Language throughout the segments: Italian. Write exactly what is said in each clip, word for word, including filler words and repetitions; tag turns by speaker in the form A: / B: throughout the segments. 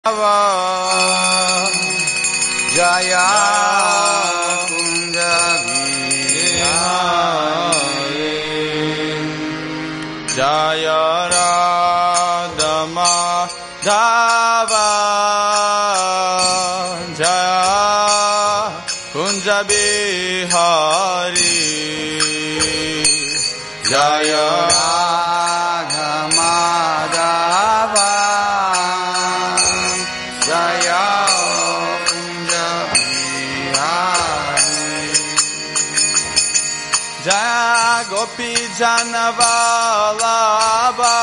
A: Jaya Kunja Bihari Jaya Radha Madhava Jaya Kunja Bihari Jaya Radha Madhava Jaya Kunja Bihari Jaya Gopi Jana Vallabha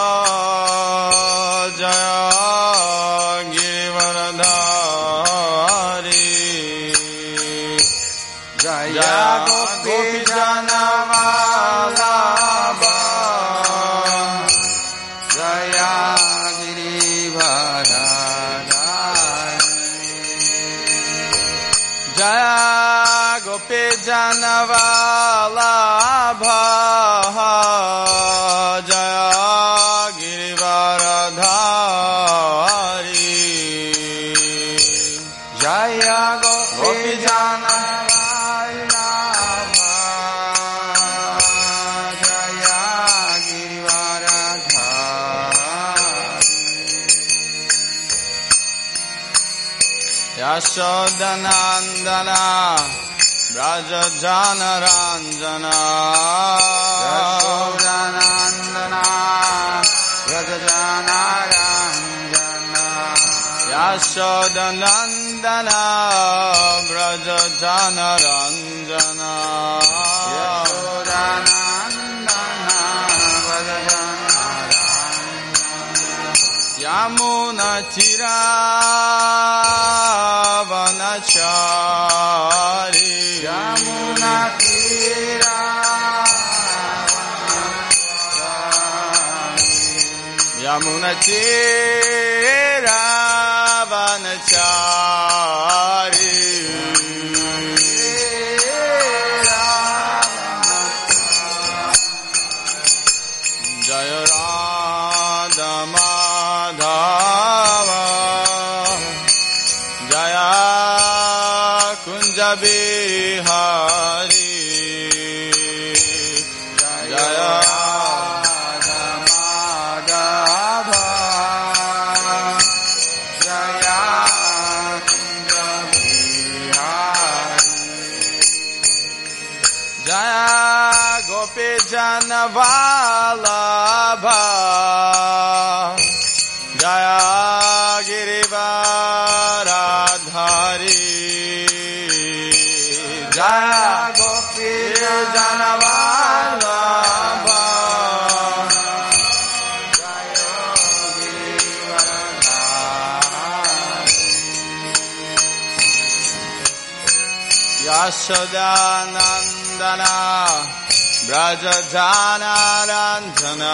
A: Jaya Girivaradhari Jaya Gopi Jana Vallabha Jaya Girivaradhari Jaya Gopi Jana Vallabha Jaya Girivaradhari Jaya Gopi Jana Vallabha Jaya Girivaradhari Yashodanandana Braja Jana Ranjana Yashodanandana Braja Jana Ranjana Yashodanandana Braja Jana Ranjana Yashodanandana Braja Jana Ranjana Yamuna Tira Vanachari Yamuna Tira Yamuna Tira Vanachari Jaya Radha Madhava Jaya Kunja Bihari Jaya Radha Madhava Jaya Kunja Bihari Jaya Gopi Jana Vallabha Jaya Girivaradhari Jaya Gopi Jana Vallabha Jaya Girivaradhari Yashodanandana Braja Jana Ranjana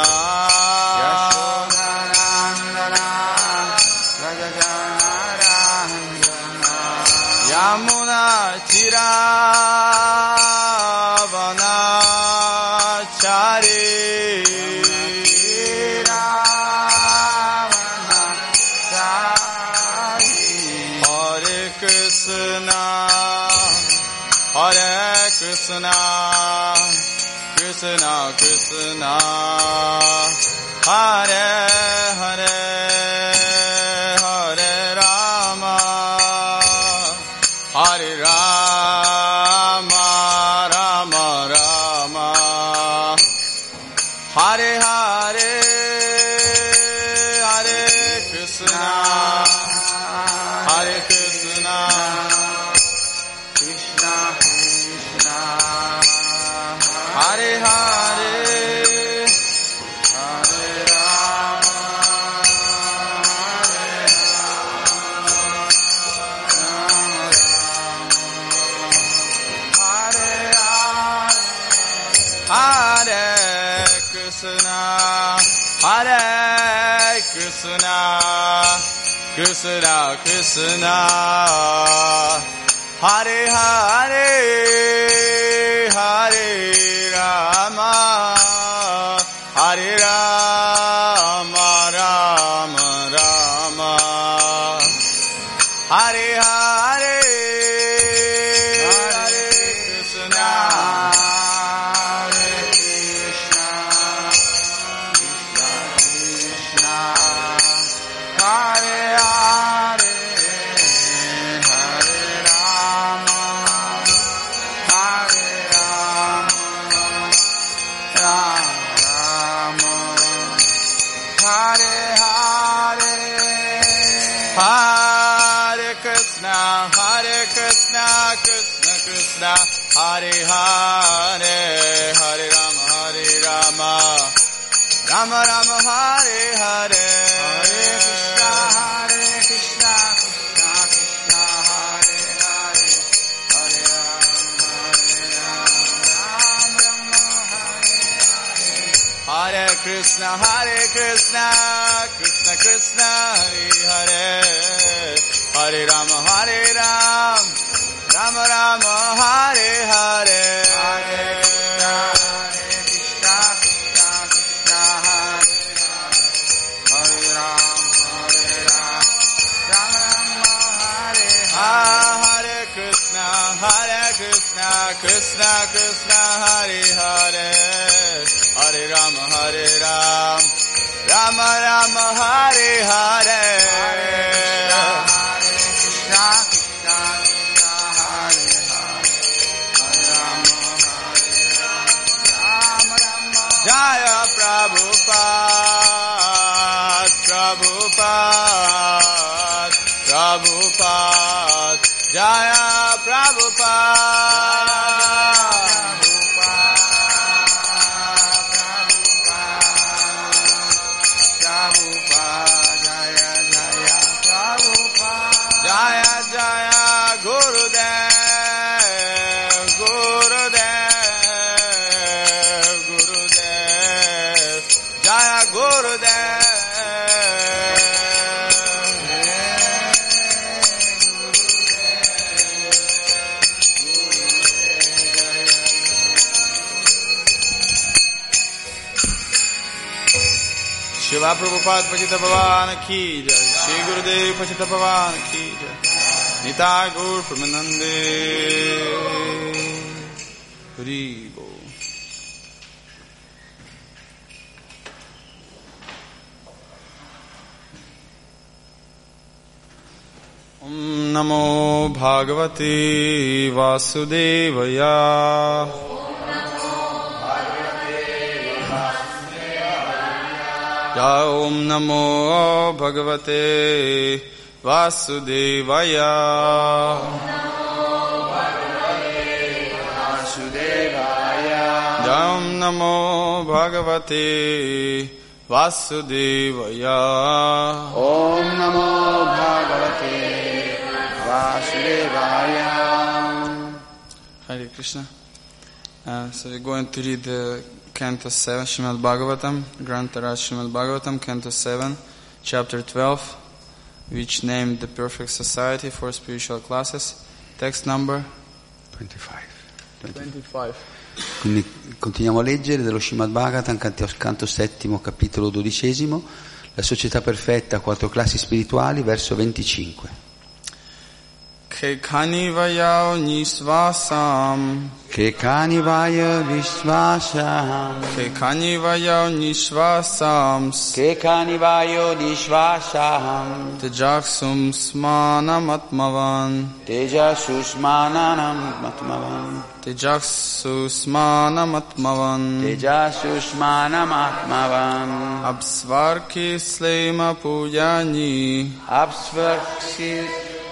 A: Yashodanandana Braja Jana Ranjana Yamuna Tira Vanachari Hare Krishna Hare Krishna Krishna Krishna Hare Hare Hare Rama Hare Rama Rama Rama Hare Hare Hare Krishna Hare Krishna Krishna Krishna Hare Hare Hare Rama Hare Hare Krishna, Krishna Krishna, Hare Hare, Hare Rama, Hare Rama, Rama Rama. Hare Hare Hare Krishna Hare Krishna Krishna Krishna Hare Hare Hare Rama Hare Rama Rama Hare Hare Hare Krishna Hare Krishna Krishna Krishna Hare Hare Hare Rama Hare Rama Rama Rama Hare Hare Hare Krishna Hare Krishna Krishna Krishna Hare Hare Hare Rama Hare Rama Rama Hare Hare Hare Krishna Hare Krishna Krishna Krishna Hare Hare Hare Rama Hare Ram Rama Rama Hare Hare Hare Krishna Hare Krishna Krishna Krishna Hare Hare Hare Ram Hare Ram Rama Rama Hare Hare Hare Krishna Hare Krishna Krishna Krishna Hare Hare Hare Rama Hare Ram Rama Rama Hare Hare Jaya Prabhupada, Prabhupada, Prabhupada, Jaya Prabhupada, Prabhupada, Jaya Jaya Prabhupada, Jaya Jaya Gurudev, Gurudev, Gurudev, Jaya Gurudev. Shila Prabhupada Pachita Bhavana Ki Jai, Shri Gurudev Pachita Bhavana Ki Jai, Nitai Gaur Pramanande Hari Bol. Om Namo Bhagavate Vasudevaya. Om Namo Bhagavate Vasudevaya. Om Namo Bhagavate Vasudevaya.
B: Om Namo Bhagavate Vasudevaya.
A: Hare Krishna. Uh, so we're going to read the Canto seven, Srimad Bhagavatam, Grantaraj Srimad Bhagavatam, Canto seven, Chapter twelve, which named the Perfect Society for Spiritual Classes. Text number
B: venticinque.
A: twenty-five.
B: Quindi continuiamo a leggere dello Srimad Bhagavatam, canto, canto settimo, capitolo dodicesimo, la società perfetta, quattro classi spirituali, verso venticinque.
A: Che kani vayao nisvasam,
B: Che kani vaya vishvasam,
A: Che kani vayao nisvasam,
B: Che kani vayo dishvasam,
A: Tejaksum smanam atmavan,
B: Teja susmananam matmavan,
A: Tejaksu smanam atmavan,
B: Teja susmanam atmavan,
A: Apsvarki slema pujani,
B: Apsvarksi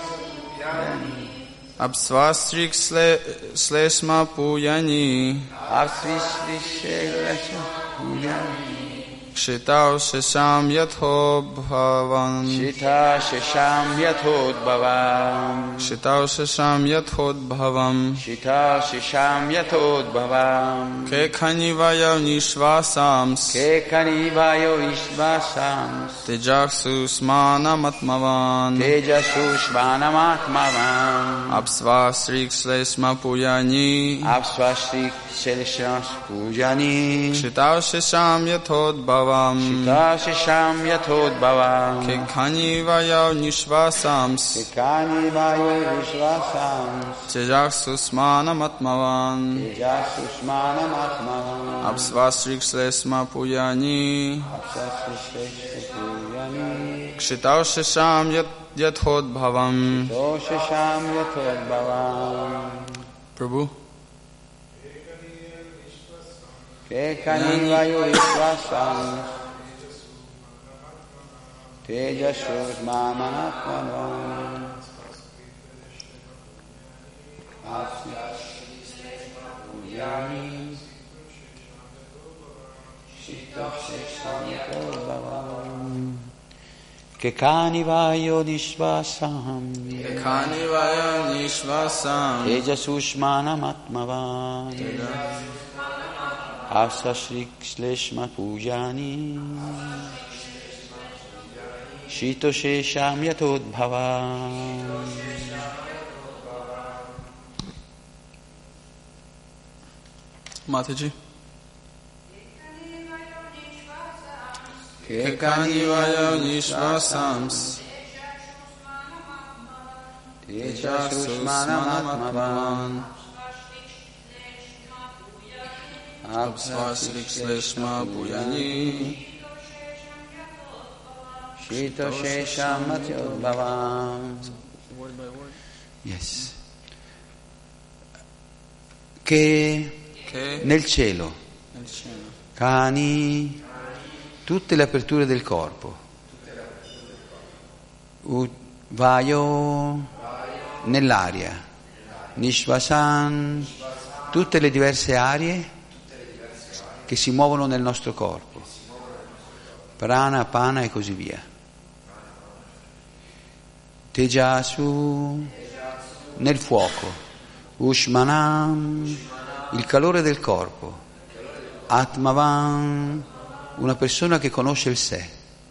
A: Apsvastrik slesma pujani,
B: Apsvisvishelasha pujani,
A: Kshitau shesham yatho bhavan,
B: Shita shesham yathodbhavam,
A: Kshitau shesham yatho bhavam,
B: Shita shesham yathodbhavam,
A: Ke khani vayau nishvasams,
B: Ke kanivayo ishvasams,
A: Tejaksu smanam atmavan,
B: Teja sushvanamatmavam,
A: Apsvastrik slesma pujani,
B: Apsvashrik seleshas pujani,
A: Kshitau shesham yatho bhavam, yathodbhavam
B: Shitashisham yathodbhavam
A: Kekhani vaya nishvasams
B: Kekhani vayu vishvasams
A: Tejaksusmanam atmavan
B: Tejaksusmanam atmavan
A: Apsvasrikshlesma puyani
B: Apsvasrikshlesma puyani
A: Kshitaushisham yathodbhavam
B: Shitashisham yathodbhavam
A: Prabhu
B: Kekhani vayu vishvasams Tejaksusmanam atmavan Puyani Kekhani vayu nishvasam
A: Kekhani vaya nishvasam
B: Tejaksusmanam atmavan Asasrikshleshma pujani Shitoshesham yathodbhavam.
A: Mataji. Kekhani vaya nishvasams Tejaksusmanam atmavan Apsvasrikshleshma puyani
B: Shitoshesham yathodbhavam. Yes. Che,
A: che
B: nel cielo,
A: nel cielo
B: cani, tutte le aperture del corpo, U, vaio, nell'aria, nishvasan, tutte le diverse aree che si muovono nel nostro corpo, prana, apana e così via. Tejasu, nel fuoco, ushmanam, il calore del corpo, atmavan, una persona che conosce il sé,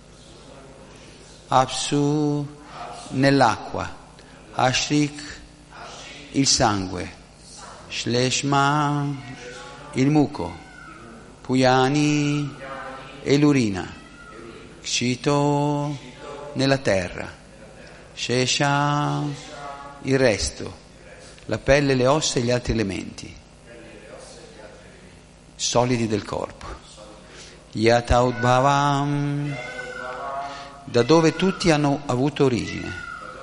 B: apsu, nell'acqua, ashrik, il sangue, shleshma, il muco, puyani e l'urina, kshito, nella terra, shesha, il resto, la pelle, le ossa e gli altri elementi solidi del corpo. Yathodbhavam, da dove tutti hanno avuto origine.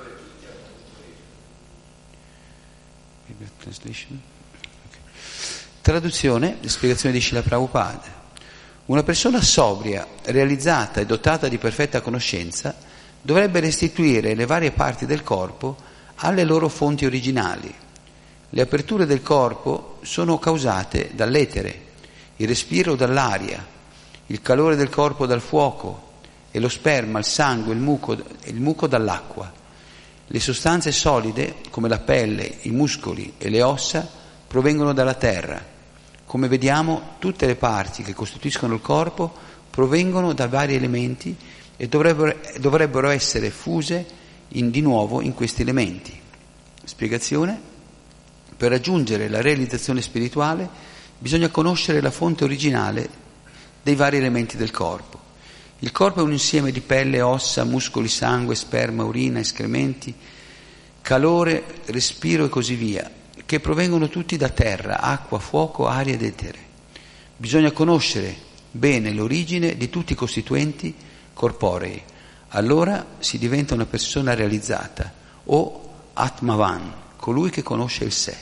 B: Traduzione e spiegazione di Srila Prabhupada. Una persona sobria, realizzata e dotata di perfetta conoscenza dovrebbe restituire le varie parti del corpo alle loro fonti originali. Le aperture del corpo sono causate dall'etere, il respiro dall'aria, il calore del corpo dal fuoco e lo sperma, il sangue, il muco, il muco dall'acqua. Le sostanze solide, come la pelle, i muscoli e le ossa, provengono dalla terra. Come vediamo, tutte le parti che costituiscono il corpo provengono da vari elementi e dovrebbero, dovrebbero essere fuse in, di nuovo in questi elementi. Spiegazione: per raggiungere la realizzazione spirituale bisogna conoscere la fonte originale dei vari elementi del corpo. Il corpo è un insieme di pelle, ossa, muscoli, sangue, sperma, urina, escrementi, calore, respiro e così via, che provengono tutti da terra, acqua, fuoco, aria ed etere. Bisogna conoscere bene l'origine di tutti i costituenti corporei. Allora si diventa una persona realizzata, o Atmavan, colui che conosce il sé.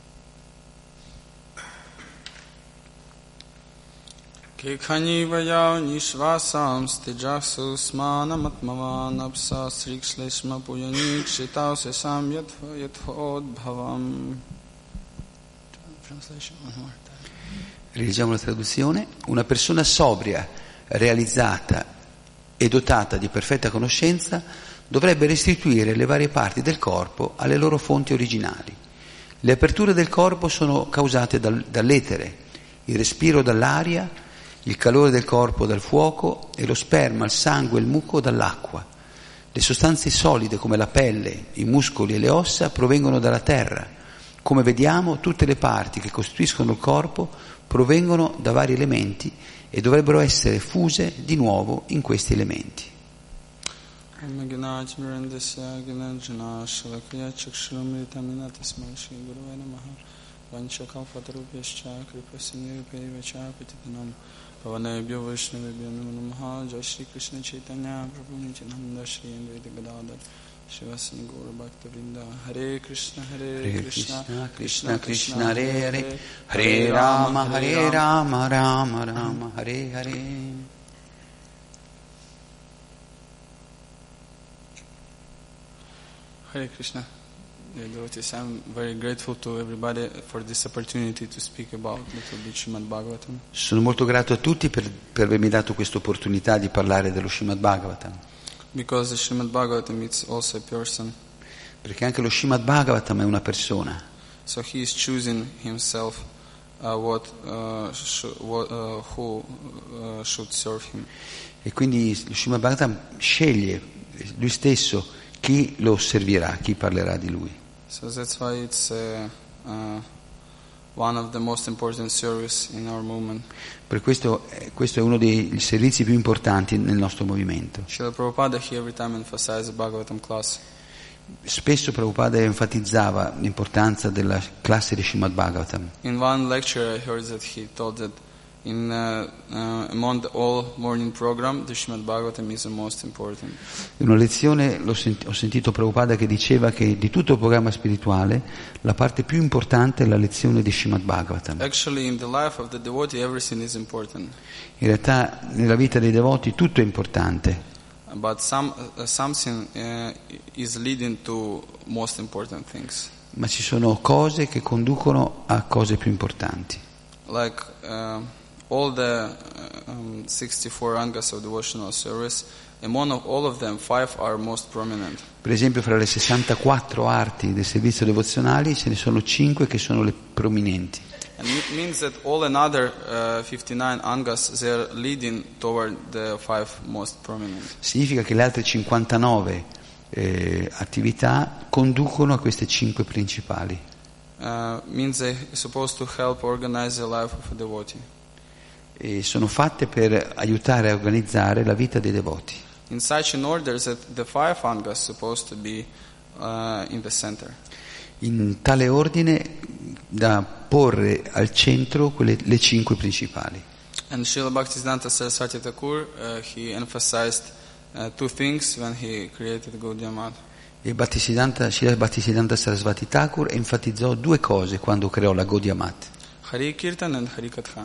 A: Kekhani vaya nishvasam tejaksusmanam atmavan apsasrikshleshma puyani kshitausesam yathodbhavam.
B: Rileggiamo la traduzione. Una persona sobria, realizzata e dotata di perfetta conoscenza dovrebbe restituire le varie parti del corpo alle loro fonti originali. Le aperture del corpo sono causate dal, dall'etere, il respiro dall'aria, il calore del corpo dal fuoco e lo sperma, il sangue e il muco dall'acqua. Le sostanze solide come la pelle, i muscoli e le ossa provengono dalla terra. Come vediamo, tutte le parti che costituiscono il corpo provengono da vari elementi e dovrebbero essere fuse di nuovo in questi elementi.
A: Pavanebhyo Vaishnavebhyo Namo Namaha Jai Shri Krishna Chaitanya Prabhu Nityananda Shri Advaita Gadadhar Shivasana Gaura Bhakta Vrinda Hare Krishna Hare, Hare Krishna Krishna Krishna, Krishna Hare Hare Hare Rama Hare Rama Rama Rama Hare Hare. Hare Krishna. Yeah, devotees, I'm very grateful to everybody for this opportunity to speak about little bit Srimad Bhagavatam.
B: Sono molto grato a tutti per, per avermi dato questa opportunità di parlare dello Srimad Bhagavatam.
A: Because the Srimad Bhagavatam is also a person.
B: Perché anche lo Srimad Bhagavatam è una persona.
A: So he is choosing himself uh, what, uh, sh- what, uh, who uh, should serve him.
B: E quindi lo Srimad Bhagavatam sceglie lui stesso chi lo servirà, chi parlerà di lui.
A: So that's why it's uh, uh, one of the most important service in our movement.
B: Per questo eh, questo è uno dei servizi più importanti nel nostro movimento.
A: Srila Prabhupada, he every time emphasized the Bhagavatam class.
B: Spesso Prabhupada enfatizzava l'importanza della classe di Srimad Bhagavatam.
A: In one lecture I heard that he told that in uh, uh, among the all morning program the Srimad Bhagavatam is the most important.
B: In una lezione l'ho sent- ho sentito Prabhupada che diceva che di tutto il programma spirituale la parte più importante è la lezione di Srimad Bhagavatam.
A: Actually in the life of the devotee everything is important.
B: In realtà nella vita dei devoti tutto è importante.
A: But some, uh, something uh, is leading to most important things.
B: Ma ci sono cose che conducono a cose più importanti.
A: Like uh, all the uh, um, sixty-four angas of devotional service, among of all of them, five are most prominent.
B: Per esempio, fra le sessantaquattro arti del servizio devozionali ce ne sono cinque che sono le prominenti.
A: And it means that all another uh, fifty-nine angas they are leading toward the five most prominent.
B: Significa che le altre cinquantanove eh, attività conducono a queste cinque principali.
A: Uh, means they are supposed to help organize the life of a devotee.
B: E sono fatte per aiutare a organizzare la vita dei devoti.
A: In such an order that the five angas supposed to be uh, in the center.
B: In tale ordine da porre al centro quelle, le cinque principali.
A: And Srila Bhaktisiddhanta Saraswati Thakur, uh, he emphasized uh, two things when he created Gaudiya Math.
B: E Bhaktisiddhanta, Srila Bhaktisiddhanta Saraswati Thakur enfatizzò due cose quando creò la Gaudiya Math.
A: Hari Kirtan and Hari Katha.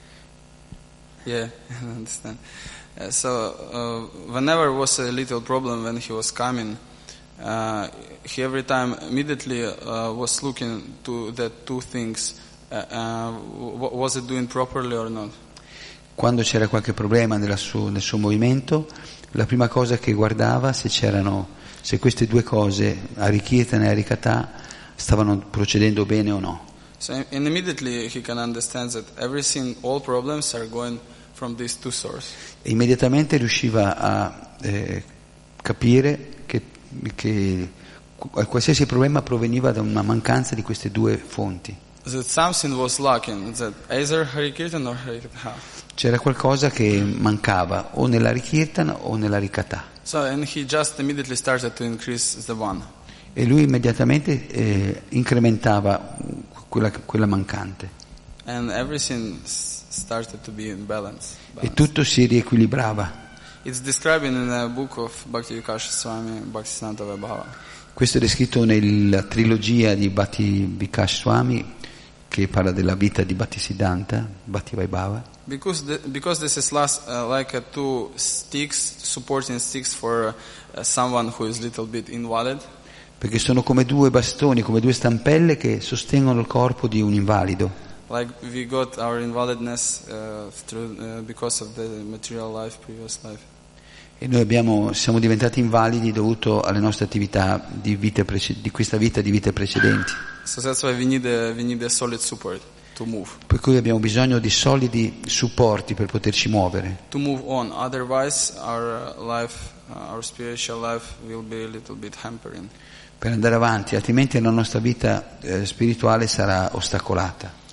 A: Yeah, I understand. Uh, so uh, whenever was a little problem when he was coming, uh, he every time immediately uh, was looking to the two things. Uh, uh, was it doing properly or not?
B: Quando c'era qualche problema nella suo, nel suo movimento, la prima cosa che guardava se c'erano se queste due cose, Harikirtan e Harikatha, stavano procedendo bene o no.
A: So and immediately he can understand that everything, all problems are going from these two sources.
B: E immediatamente riusciva a eh, capire che, che qualsiasi problema proveniva da una mancanza di queste due fonti.
A: That something was lacking, that either Harikirtan or Harikatha.
B: C'era qualcosa che mancava o nella Harikirtan o nella Harikatha.
A: So and he just immediately started to increase the one.
B: E lui immediatamente eh, incrementava quella, quella mancante.
A: And everything started to be in balance. balance.
B: E tutto si riequilibrava.
A: It's described in a book of Bhakti Vikash Swami, Bhaktisiddhanta Vaibhava.
B: Questo è descritto nella trilogia di Bhakti Vikash Swami che parla della vita di Bhaktisiddhanta, Bhakti Vaibhava.
A: Because the, because this is last uh, like a two sticks, supporting sticks for uh, someone who is a little bit invalid.
B: Perché sono come due bastoni, come due stampelle che sostengono il corpo di un invalido.
A: Like we got our invalidness uh, through uh, because of the material life, previous life.
B: E noi abbiamo, siamo diventati invalidi dovuto alle nostre attività di, vite prece- di questa vita di vite precedenti.
A: So that's why we need a, we need a solid support to move.
B: Per cui abbiamo bisogno di solidi supporti per poterci muovere.
A: To move on, otherwise our life, uh, our spiritual life will be a little bit hampering.
B: Per andare avanti, altrimenti la nostra vita eh, spirituale sarà ostacolata.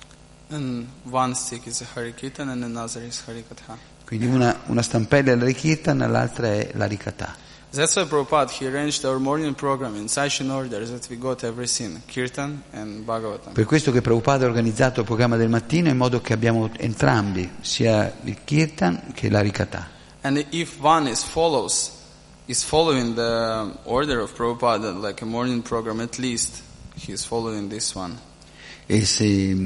A: And one stick is a Hari Kirtan and another is Hari Katha.
B: Quindi una, una stampella è l'Hari Kirtan, l'altra è l'Hari Katha.
A: That's why Prabhupada, he arranged our morning program in such an order that we got everything, Kirtan and Bhagavatam.
B: Per questo che Prabhupada ha organizzato il programma del mattino in modo che abbiamo entrambi, sia il Kirtan che l'Hari Katha.
A: And if one is follows, is following the order of Prabhupada, like a morning program, at least he is following this one.
B: E se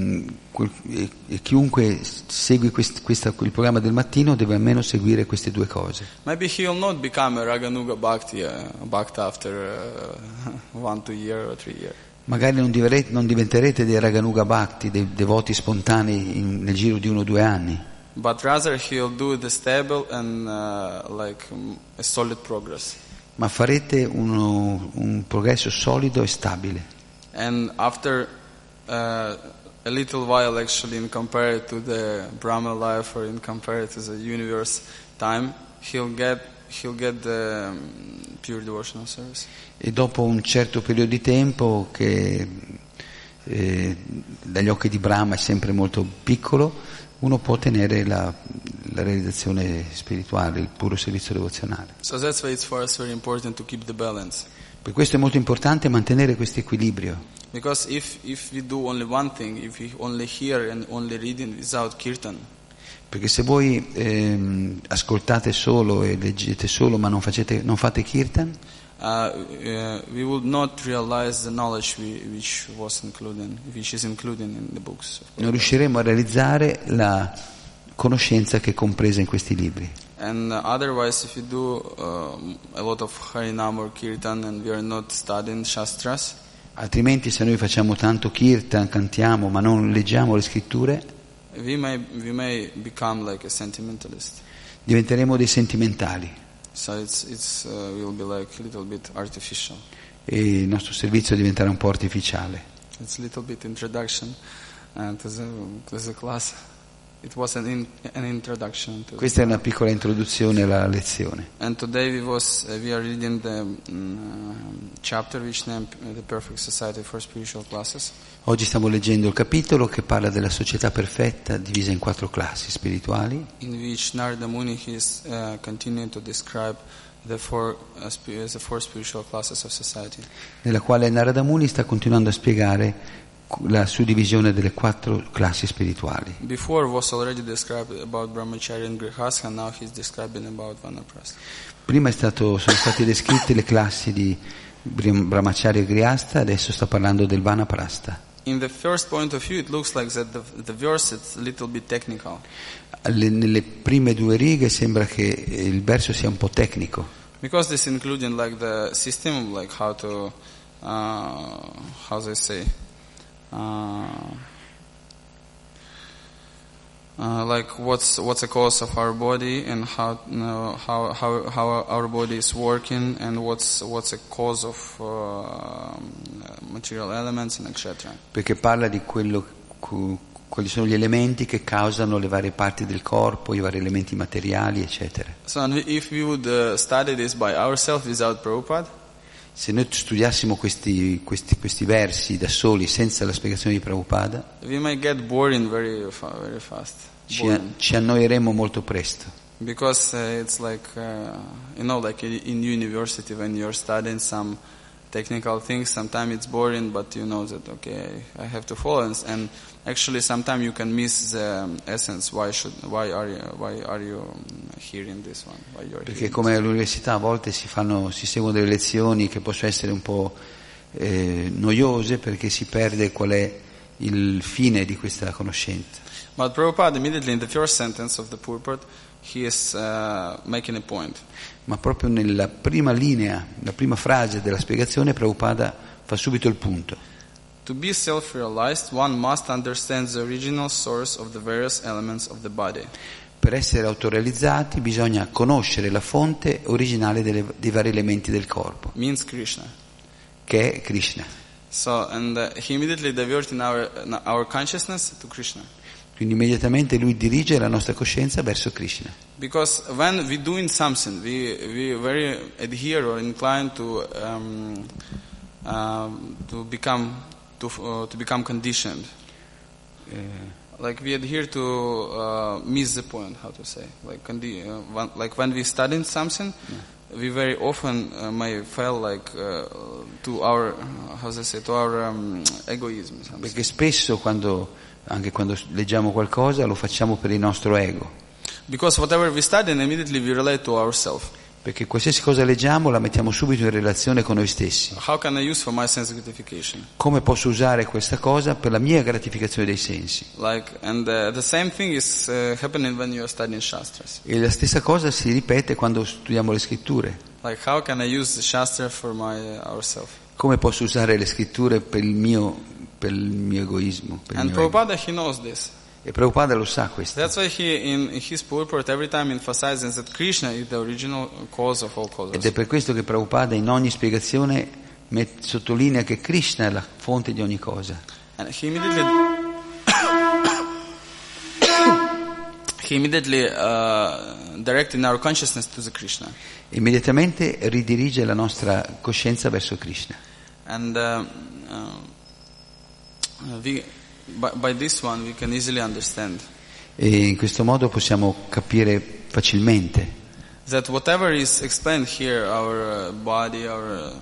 B: e, e chiunque segue quest, questa, il programma del mattino deve almeno seguire queste due cose.
A: Maybe he will not become a Raganuga Bhakti, uh, Bhakta after uh, one, two year or three year.
B: Magari non, diventerete, non diventerete dei Raganuga Bhakti, dei devoti spontanei in, nel giro di uno o due anni.
A: But rather he'll do the stable and uh, like um, a solid progress.
B: Ma farete uno, un progresso solido e stabile.
A: And after uh, a little while, actually, in compared to the Brahma life or in compared to the universe time, he'll get he'll get the um, pure devotional service.
B: E dopo un certo periodo di tempo che eh, dagli occhi di Brahma è sempre molto piccolo, uno può ottenere la, la realizzazione spirituale, il puro servizio devozionale.
A: So that's why it's for us very important to keep the balance.
B: Per questo è molto importante mantenere questo equilibrio.
A: Because if if we do only one thing, if we only hear and only reading without kirtan,
B: perché se voi ehm, ascoltate solo e leggete solo ma non, facete, non fate kirtan,
A: uh, uh, we would not realize the knowledge we, which was included, which is included in the books.
B: non riusciremo a realizzare la conoscenza che è compresa in questi libri.
A: And uh, otherwise, if you do uh, a lot of Harinam or Kirtan and we are not studying Shastras,
B: Altrimenti se noi facciamo tanto kirtan, cantiamo, ma non leggiamo le scritture,
A: we may we may become like a sentimentalist.
B: diventeremo dei sentimentali
A: So it's it's uh, will be like a little bit artificial.
B: e il nostro servizio diventerà un po' artificiale.
A: It's a little bit introduction uh, to the to the class. It was an in, an introduction to
B: Questa è una piccola introduzione alla lezione.
A: And today we was uh, we are reading the um, chapter which named uh, the Perfect Society for Spiritual Classes.
B: Oggi stiamo leggendo il capitolo che parla della società perfetta divisa in quattro classi spirituali,
A: In which Narada Muni is uh, continuing to describe the four uh, sp- the four spiritual classes of society.
B: nella quale Narada Muni sta continuando a spiegare la suddivisione delle quattro classi spirituali.
A: Before was already described about Brahmacharya and Grihastha, now he's describing about Vanaprastha.
B: Prima è stato, sono state descritte le classi di Brahmacharya e Grihastha, adesso sta parlando del Vanaprastha.
A: In the first point of view, it looks like that the, the verse is a little bit technical.
B: Alle, nelle prime due righe sembra che il verso sia un po' tecnico,
A: Because this including like the system, like how to, uh, how they say, uh, uh, like what's what's the cause of our body and how you know, how how how our body is working and what's what's the cause of uh, material elements and et cetera.
B: perché parla di quello, cu- quali sono gli elementi che causano le varie parti del corpo, i vari elementi materiali, eccetera.
A: So and if we would uh, study this by ourselves without Prabhupada,
B: Se noi studiassimo questi, questi, questi versi da soli, senza la spiegazione di Prabhupada,
A: we might get boring very fa- very fast.
B: ci,
A: Boring.
B: ci annoieremo molto presto.
A: Because uh, it's like, uh, you know, like i- in university when you're studying some technical things, sometimes it's boring, but you know that, okay, I have to follow. And, and actually sometimes you can miss the um, essence. Why should, why are you, why are you um, hearing this one? Why you're
B: Perché
A: hearing
B: come
A: this?
B: all'università a volte si, fanno, si seguono delle lezioni che possono essere un po' eh, noiose perché si perde qual è il fine di questa conoscenza.
A: But Prabhupada immediately in the first sentence of the purport, he is uh, making a point.
B: Ma proprio nella prima linea, la prima frase della spiegazione, Prabhupada fa subito il punto.
A: To be self-realized, one must understand the original source of the various elements of the body.
B: Per essere autorealizzati bisogna conoscere la fonte originale delle, dei vari elementi del corpo,
A: Means Krishna.
B: che è Krishna.
A: So, and uh, he immediately diverted our our consciousness to Krishna.
B: Quindi immediatamente lui dirige la nostra coscienza verso Krishna.
A: Because when we doing something, we we very adhere or inclined to um, um, to become to uh, to become conditioned.
B: Eh,
A: like we adhere to uh, miss the point, how to say, like, condi- uh, when, like when we study something, yeah. we very often uh, may fail like uh, to our, uh, how to say, to our um, egoism. Something.
B: Perché spesso quando, anche quando leggiamo qualcosa lo facciamo per il nostro ego.
A: Because whatever we study, immediately we relate to ourselves.
B: Perché qualsiasi cosa leggiamo la mettiamo subito in relazione con noi stessi.
A: How can I use for my sense gratification?
B: Come posso usare questa cosa per la mia gratificazione dei sensi?
A: Like, and uh, the same thing is uh, happening when you are studying Shastras.
B: E la stessa cosa si ripete quando studiamo le scritture.
A: Like, how can I use the Shastra for my uh, ourself?
B: Come posso usare le scritture per il mio, per il mio egoismo? Per
A: And
B: il mio
A: Prabhupada, he knows this.
B: E Prabhupada lo sa questo.
A: That's why he, in his purport, every time emphasizes that Krishna is the original cause of all causes.
B: Ed è per questo che Prabhupada in ogni spiegazione met, sottolinea che Krishna è la fonte di ogni cosa.
A: And he immediately, he immediately uh, directed our consciousness to the Krishna.
B: Immediatamente ridirige la nostra coscienza verso Krishna.
A: And uh, uh, we, by, by this one we can easily understand.
B: E in questo modo possiamo capire facilmente
A: that whatever is explained here, our uh, body, our uh,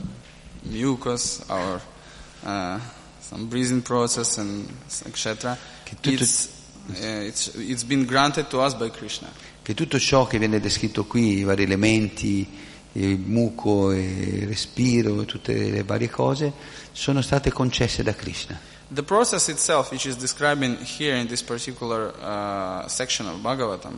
A: mucus, our uh, some breathing process and et cetera, it's, uh, it's it's been granted to us by Krishna.
B: Che tutto ciò che viene descritto qui, i vari elementi, il muco, il respiro, tutte le varie cose, sono state concesse da Krishna.
A: The process itself, which is describing here in this particular uh, section of Bhagavatam,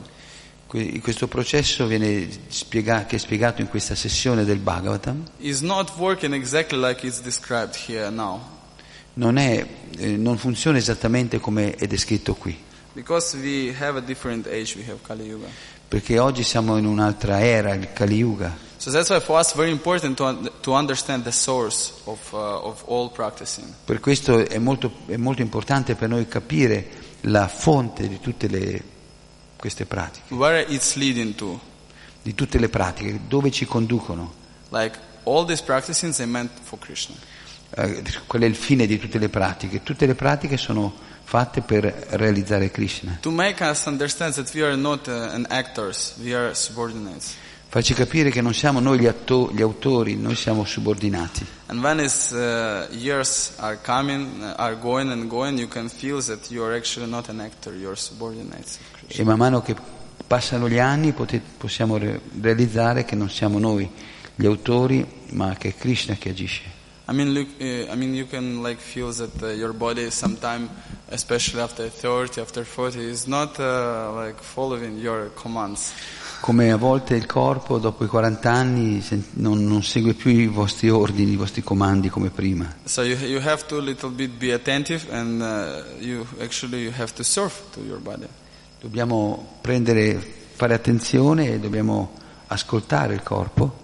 B: questo processo viene spiegato, che è spiegato in questa sessione del Bhagavatam,
A: is not working exactly like it's described here now.
B: Non è, eh, non funziona esattamente come è descritto qui.
A: Because we have a different age, we have Kali Yuga.
B: Perché oggi siamo in un'altra era, il Kali Yuga.
A: So that's why for us very important to un- to understand the source of uh, of all practicing.
B: Per questo è molto, è molto importante per noi capire la fonte di tutte le, queste pratiche.
A: Where it's leading to.
B: Di tutte le pratiche, dove ci conducono.
A: Like all these practicings are meant for Krishna.
B: Eh, qual è il fine di tutte le pratiche? Tutte le pratiche sono fatte per realizzare Krishna.
A: To make us understand that we are not uh, an actors, we are subordinates.
B: Farci capire che non siamo noi gli, atto- gli autori, noi siamo subordinati.
A: And when his uh, years are coming, uh, are going and going, you can feel that you are actually not an actor, you are subordinates of Krishna.
B: E man mano che passano gli anni pote- possiamo re- realizzare che non siamo noi gli autori, ma che è Krishna che agisce.
A: I mean, look, uh, I mean, you can like feel that uh, your body sometime, especially after thirty, after forty, is not uh, like following your commands.
B: Come a volte il corpo dopo i quaranta anni non, non segue più i vostri ordini, i vostri comandi come prima.
A: So you you have to little bit be attentive, and uh, you actually you have to serve to your body.
B: Dobbiamo prendere, fare attenzione e dobbiamo ascoltare il corpo.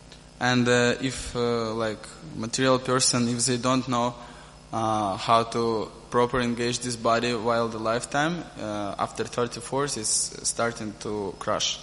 A: And uh, if uh, like material person, if they don't know uh, how to properly engage this body while the lifetime, uh, after thirty-four is starting to crash.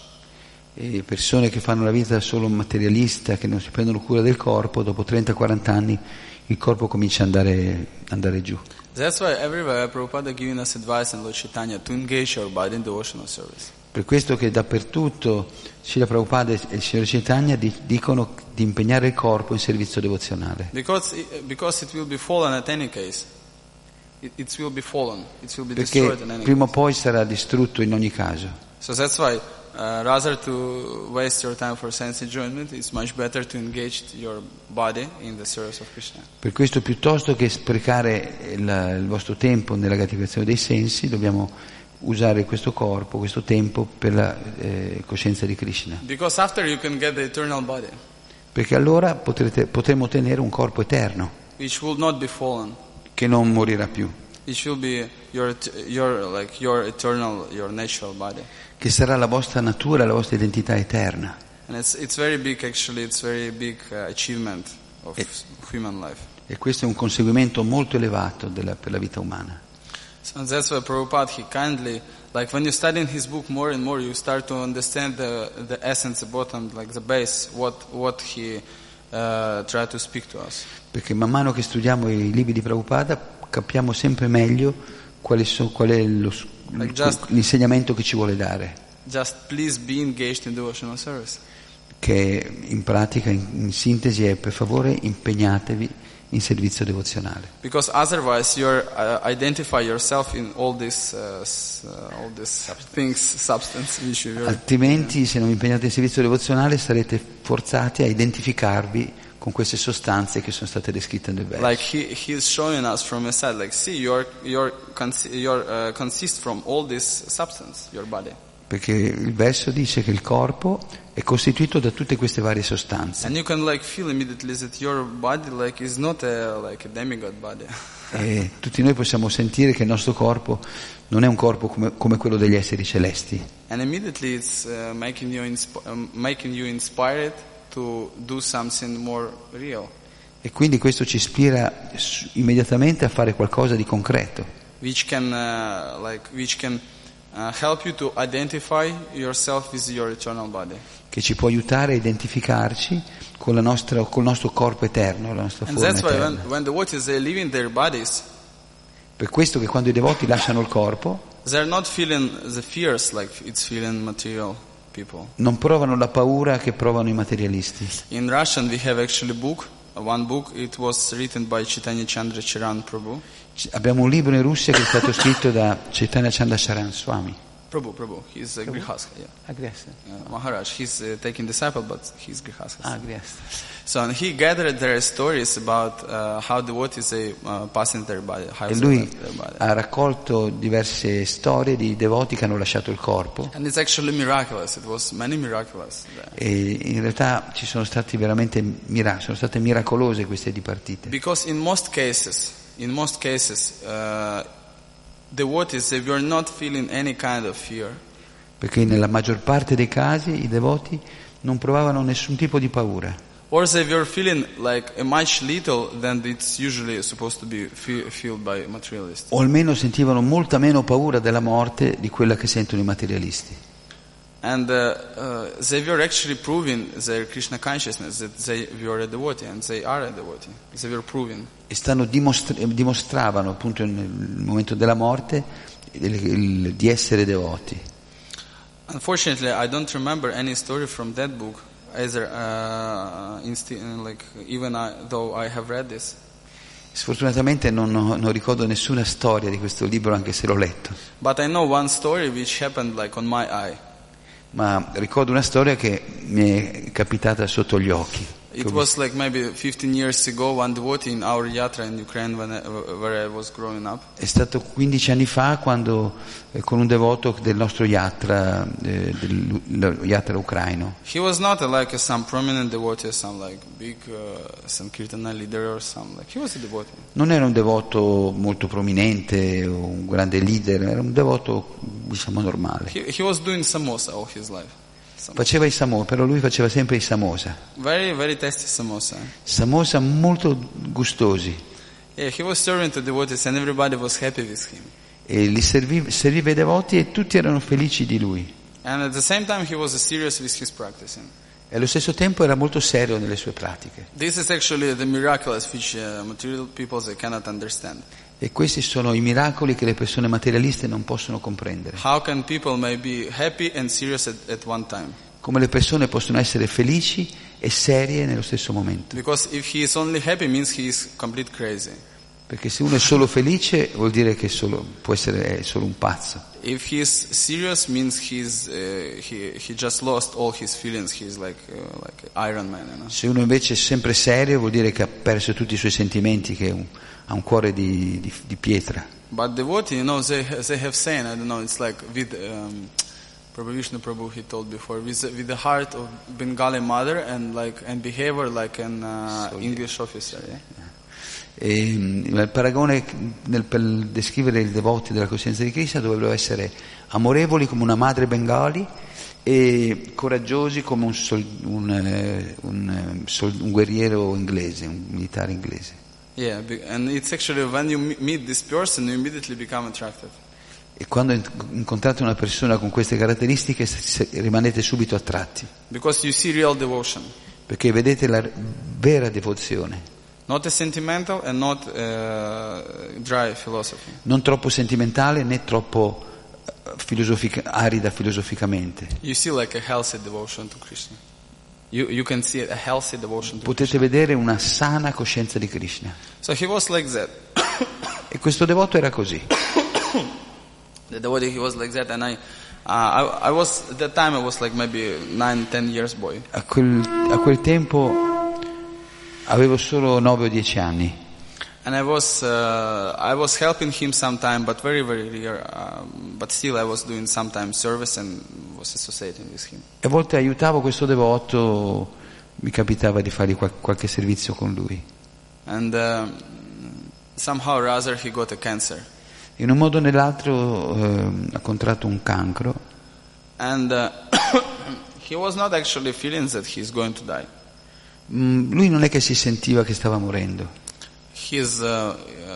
B: E persone che fanno la vita solo materialista, che non si prendono cura del corpo, dopo trenta quaranta anni il corpo comincia ad andare, andare giù.
A: That's why everywhere Prabhupada is giving us advice in Lord Chaitanya to engage our body in devotional service.
B: Per questo che dappertutto Srila Prabhupada e il Signore Chaitanya dicono di impegnare il corpo in servizio devozionale.
A: Because it, because it will be fallen at any case. It, it will be fallen. It will be
B: Perché
A: destroyed in any
B: prima o
A: case.
B: poi sarà distrutto in ogni caso.
A: So that's why uh, rather to waste your time for sense enjoyment, it's much better to engage your body in the service of Krishna.
B: Per questo piuttosto che sprecare il, il vostro tempo nella gratificazione dei sensi, dobbiamo usare questo corpo, questo tempo per la eh, coscienza di Krishna.
A: Because after you can get the eternal body,
B: Perché allora potrete, potremo ottenere un corpo eterno
A: which will not be fallen.
B: che non morirà più,
A: It will be your your like your eternal, your natural body.
B: che sarà la vostra natura, la vostra identità eterna.
A: And it's it's very big actually. It's very big uh, achievement of
B: E-
A: human life.
B: E questo è un conseguimento molto elevato della, per la vita umana.
A: So that's why Prabhupada, he kindly, like when you study in his book more and more, you start to understand the the essence, the bottom, like the base, what what he uh, tried to speak to us.
B: Perché man mano che studiamo i libri di Prabhupada capiamo sempre meglio quali so, qual è lo,
A: Like just-
B: l'insegnamento che ci vuole dare,
A: Just please be engaged in devotional service.
B: che in pratica, in, in sintesi, è: per favore impegnatevi in servizio devozionale.
A: Because otherwise you're uh, identify yourself in all these uh, s- uh, all these things, substance issue. You're-
B: Altrimenti, se non vi impegnate in servizio devozionale, sarete forzati a identificarvi con queste sostanze che sono state descritte nel verso.
A: Like he he's showing us from a side, like see you're you're cons- you're uh, consist from all this substance, your body.
B: Perché il verso dice che il corpo è costituito da tutte queste varie sostanze.
A: And you can like feel immediately that your body like is not a like a demigod body.
B: E tutti noi possiamo sentire che il nostro corpo non è un corpo come, come quello degli esseri celesti.
A: And immediately it's uh, making you insp- um, making you inspired to do something more real,
B: E quindi questo ci ispira s- immediatamente a fare qualcosa di concreto,
A: which can uh, like which can uh, help you to identify yourself with your eternal body.
B: che ci può aiutare a identificarci con la nostra, col nostro corpo eterno, la nostra
A: And
B: forma
A: that's why when,
B: eterna.
A: when the devotees they leave in their bodies,
B: Per questo che quando i devoti lasciano il corpo
A: they're not feeling the fears like it's feeling material people.
B: non provano la paura che provano i materialisti.
A: In Russian we have actually book, uh, one book, it was written by Chaitanya Chandra Charan Prabhu.
B: C- Abbiamo un libro in Russia che è stato scritto da Chaitanya Chandrasaran Swami.
A: Prabhu, Prabhu, he's a Grihastha, yeah.
B: Ah, grazie.
A: Uh, Maharaj, he's uh, taking disciple, but he's Grihastha.
B: Ah, grazie.
A: So and he gathered their stories about uh, how devotees they uh, pass in their body, how
B: E
A: they
B: lui
A: left their body.
B: ha raccolto diverse storie di devoti che hanno lasciato il corpo,
A: And it's actually miraculous. It was many miraculous there.
B: e in realtà ci sono stati veramente miracoli, sono state miracolose queste dipartite.
A: Because in most cases, in most cases, uh, devotees they were not feeling any kind of fear.
B: Perché nella maggior parte dei casi i devoti non provavano nessun tipo di paura,
A: Or they were feeling like a much little than it's usually supposed to be fe- felt by materialists.
B: o almeno sentivano molta meno paura della morte di quella che sentono i materialisti.
A: And uh, uh, they were actually proving their Krishna consciousness that they were a devotee and they are a devotee. They were proving.
B: E stanno dimostra- dimostravano appunto nel momento della morte il- il- di essere devoti.
A: Unfortunately, I don't remember any story from that book, either uh, insti- like even I, though I have read this.
B: Sfortunatamente non, ho- non ricordo nessuna storia di questo libro, anche se l'ho letto,
A: But I know one story which happened like on my eye.
B: ma ricordo una storia che mi è capitata sotto gli occhi. che
A: It
B: ho
A: was like maybe fifteen years ago, one devotee in our yatra in Ukraine when I, where I was growing up.
B: È stato quindici anni fa quando eh, con un devoto del nostro yatra, eh, del lo yatra ucraino.
A: He was not a, like a, some prominent devotee, some like big uh, Sankirtana leader or some like he was a devotee.
B: Non era un devoto molto prominente o un grande leader, era un devoto diciamo normale.
A: He, he was doing samosa all his life. Samosa.
B: Faceva i samosa, però lui faceva sempre i samosa.
A: Very, very tasty samosa.
B: Samosa molto gustosi,
A: Yeah, he was serving to devotees and everybody was happy with him.
B: e li serviva, serviva i devoti e tutti erano felici di lui.
A: And at the same time he was serious with his practicing.
B: E allo stesso tempo era molto serio nelle sue pratiche.
A: This is actually the miraculous which uh, material people they cannot understand.
B: E questi sono i miracoli che le persone materialiste non possono comprendere.
A: How can people may be happy and serious at, at one time?
B: Come le persone possono essere felici e serie nello stesso momento.
A: Because if he is only happy means he is complete crazy.
B: Perché se uno è solo felice vuol dire che è solo, può essere è solo un pazzo.
A: If he is serious means he's uh, he he just lost all his feelings. He's like uh, like Iron Man, you know.
B: Se uno invece è sempre serio vuol dire che ha perso tutti i suoi sentimenti, che è un, ha un cuore di, di, di pietra.
A: But devotee, you know, they they have saying, I don't know, it's like with um, Prabhu Vishnu Prabhu he told before, with the, with the heart of Bengali mother and like and behavior like an uh,
B: So,
A: English officer. Yeah?
B: E, il paragone nel, per descrivere i devoti della coscienza di Krishna dovrebbero essere amorevoli come una madre bengali e coraggiosi come un, sol, un, eh, un, eh, sol, un guerriero inglese, un militare inglese.
A: Yeah, be- and it's actually when you me- meet this person, you immediately become attracted.
B: E quando incontrate una persona con queste caratteristiche se- rimanete subito attratti,
A: Because you see real devotion.
B: perché vedete la vera devozione.
A: Not a sentimental and not a dry philosophy.
B: Non troppo sentimentale né troppo filosofica, arida filosoficamente.
A: You see like a healthy devotion to Krishna. You, you can see a healthy devotion to
B: Potete
A: Krishna.
B: vedere una sana coscienza di Krishna.
A: So he was like that.
B: E questo devoto era così.
A: The devotee, he was like that, and I, uh, I, I was at that time I was like maybe nine, ten years boy.
B: A quel, a quel tempo avevo solo nove o dieci anni.
A: And I was uh, I was helping him sometime, but very very rare. Um, but still, I was doing sometime service and was associating with him.
B: E a volte aiutavo questo devoto, mi capitava di fargli qual- qualche servizio con lui.
A: And um, somehow or other, he got a cancer.
B: In un modo o nell'altro eh, ha contratto un cancro
A: And uh, he was not actually feeling that he's going to die.
B: Mm, lui non è che si sentiva che stava morendo.
A: His uh, uh,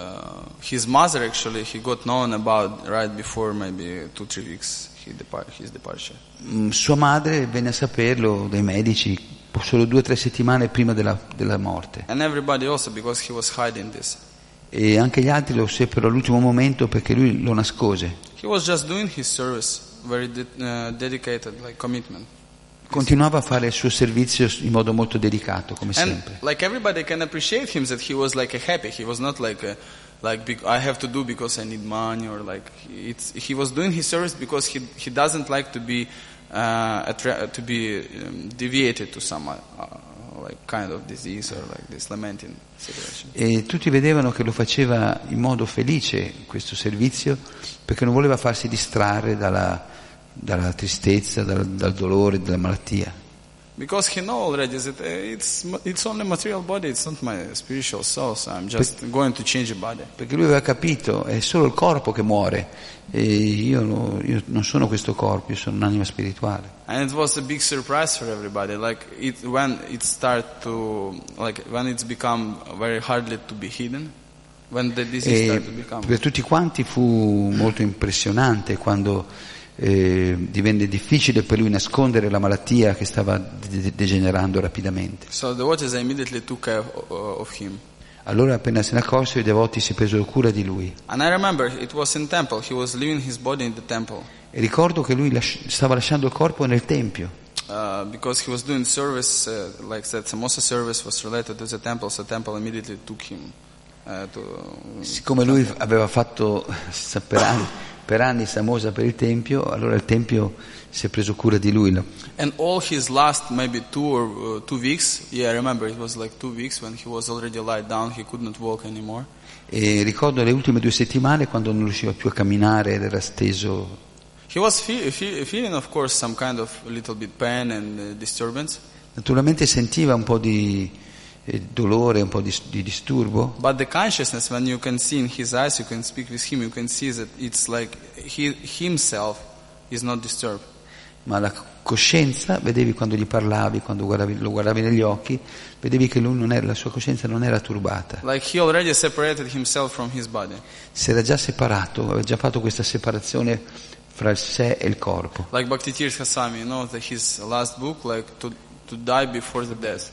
A: his mother actually he got known about right before maybe two three weeks he depart his departure.
B: Mm, sua madre venne a saperlo dai medici solo due o tre settimane prima della, della morte.
A: And everybody also, because he was hiding this.
B: E anche gli altri lo seppero all'ultimo momento perché lui lo nascose.
A: He was just doing his service, very de- uh, dedicated, like commitment.
B: Continuava a fare il suo servizio in modo molto delicato, come
A: And
B: sempre.
A: like everybody can appreciate him that he was like a happy. He was not like a, like bec- I have to do because I need money, or like it's, he was doing his service because he he doesn't like to be uh, attra- to be um, deviated to some uh, like kind of disease or like this lamenting situation.
B: E tutti vedevano che lo faceva in modo felice questo servizio perché non voleva farsi distrarre dalla, dalla tristezza, dal, dal dolore, dalla malattia.
A: Because he know already that uh, it's it's only material body, it's not my spiritual soul, so I'm just going to change the body.
B: Perché lui aveva capito, è solo il corpo che muore e io, no- io non sono questo corpo, io sono un'anima spirituale.
A: And it was a big surprise for everybody. Like it when it start to like when it's become very hardly to be hidden, when the disease
B: E
A: start to become.
B: per tutti quanti fu molto impressionante quando eh, divenne difficile per lui nascondere la malattia che stava de- degenerando rapidamente.
A: So the watchers immediately took care of, of him.
B: Allora appena se ne accorsero i devoti si presero cura di lui.
A: And I remember it was in temple. He was leaving his body in the temple
B: E ricordo che lui lasci- stava lasciando il corpo nel tempio,
A: uh, because he was doing service uh, like that. Samosa service was related to the temple, so temple immediately took him uh, to.
B: siccome lui aveva fatto sa- per anni, per anni Samosa per il tempio, allora il tempio si è preso cura di lui.
A: And all his last maybe two or uh, two weeks, yeah, I remember it was like two weeks when he was already lied down, he could not walk anymore.
B: E ricordo le ultime due settimane quando non riusciva più a camminare ed era steso.
A: He was fe- fe- feeling, of course, some kind of little bit pain and uh, disturbance,
B: Naturalmente sentiva un po' di eh, dolore, un po' di, di disturbo,
A: but the consciousness, when you can see in his eyes, you can speak with him, you can see that it's like he himself is not disturbed.
B: ma la coscienza, vedevi quando gli parlavi, quando guardavi- lo guardavi negli occhi, vedevi che lui non era, la sua coscienza non era turbata.
A: Like he already separated himself from his body.
B: Si era già separato, aveva già fatto questa separazione fra il sé e il corpo.
A: Like Bhakti Tirtha Swami, you know, that his last book, like to to die before the death.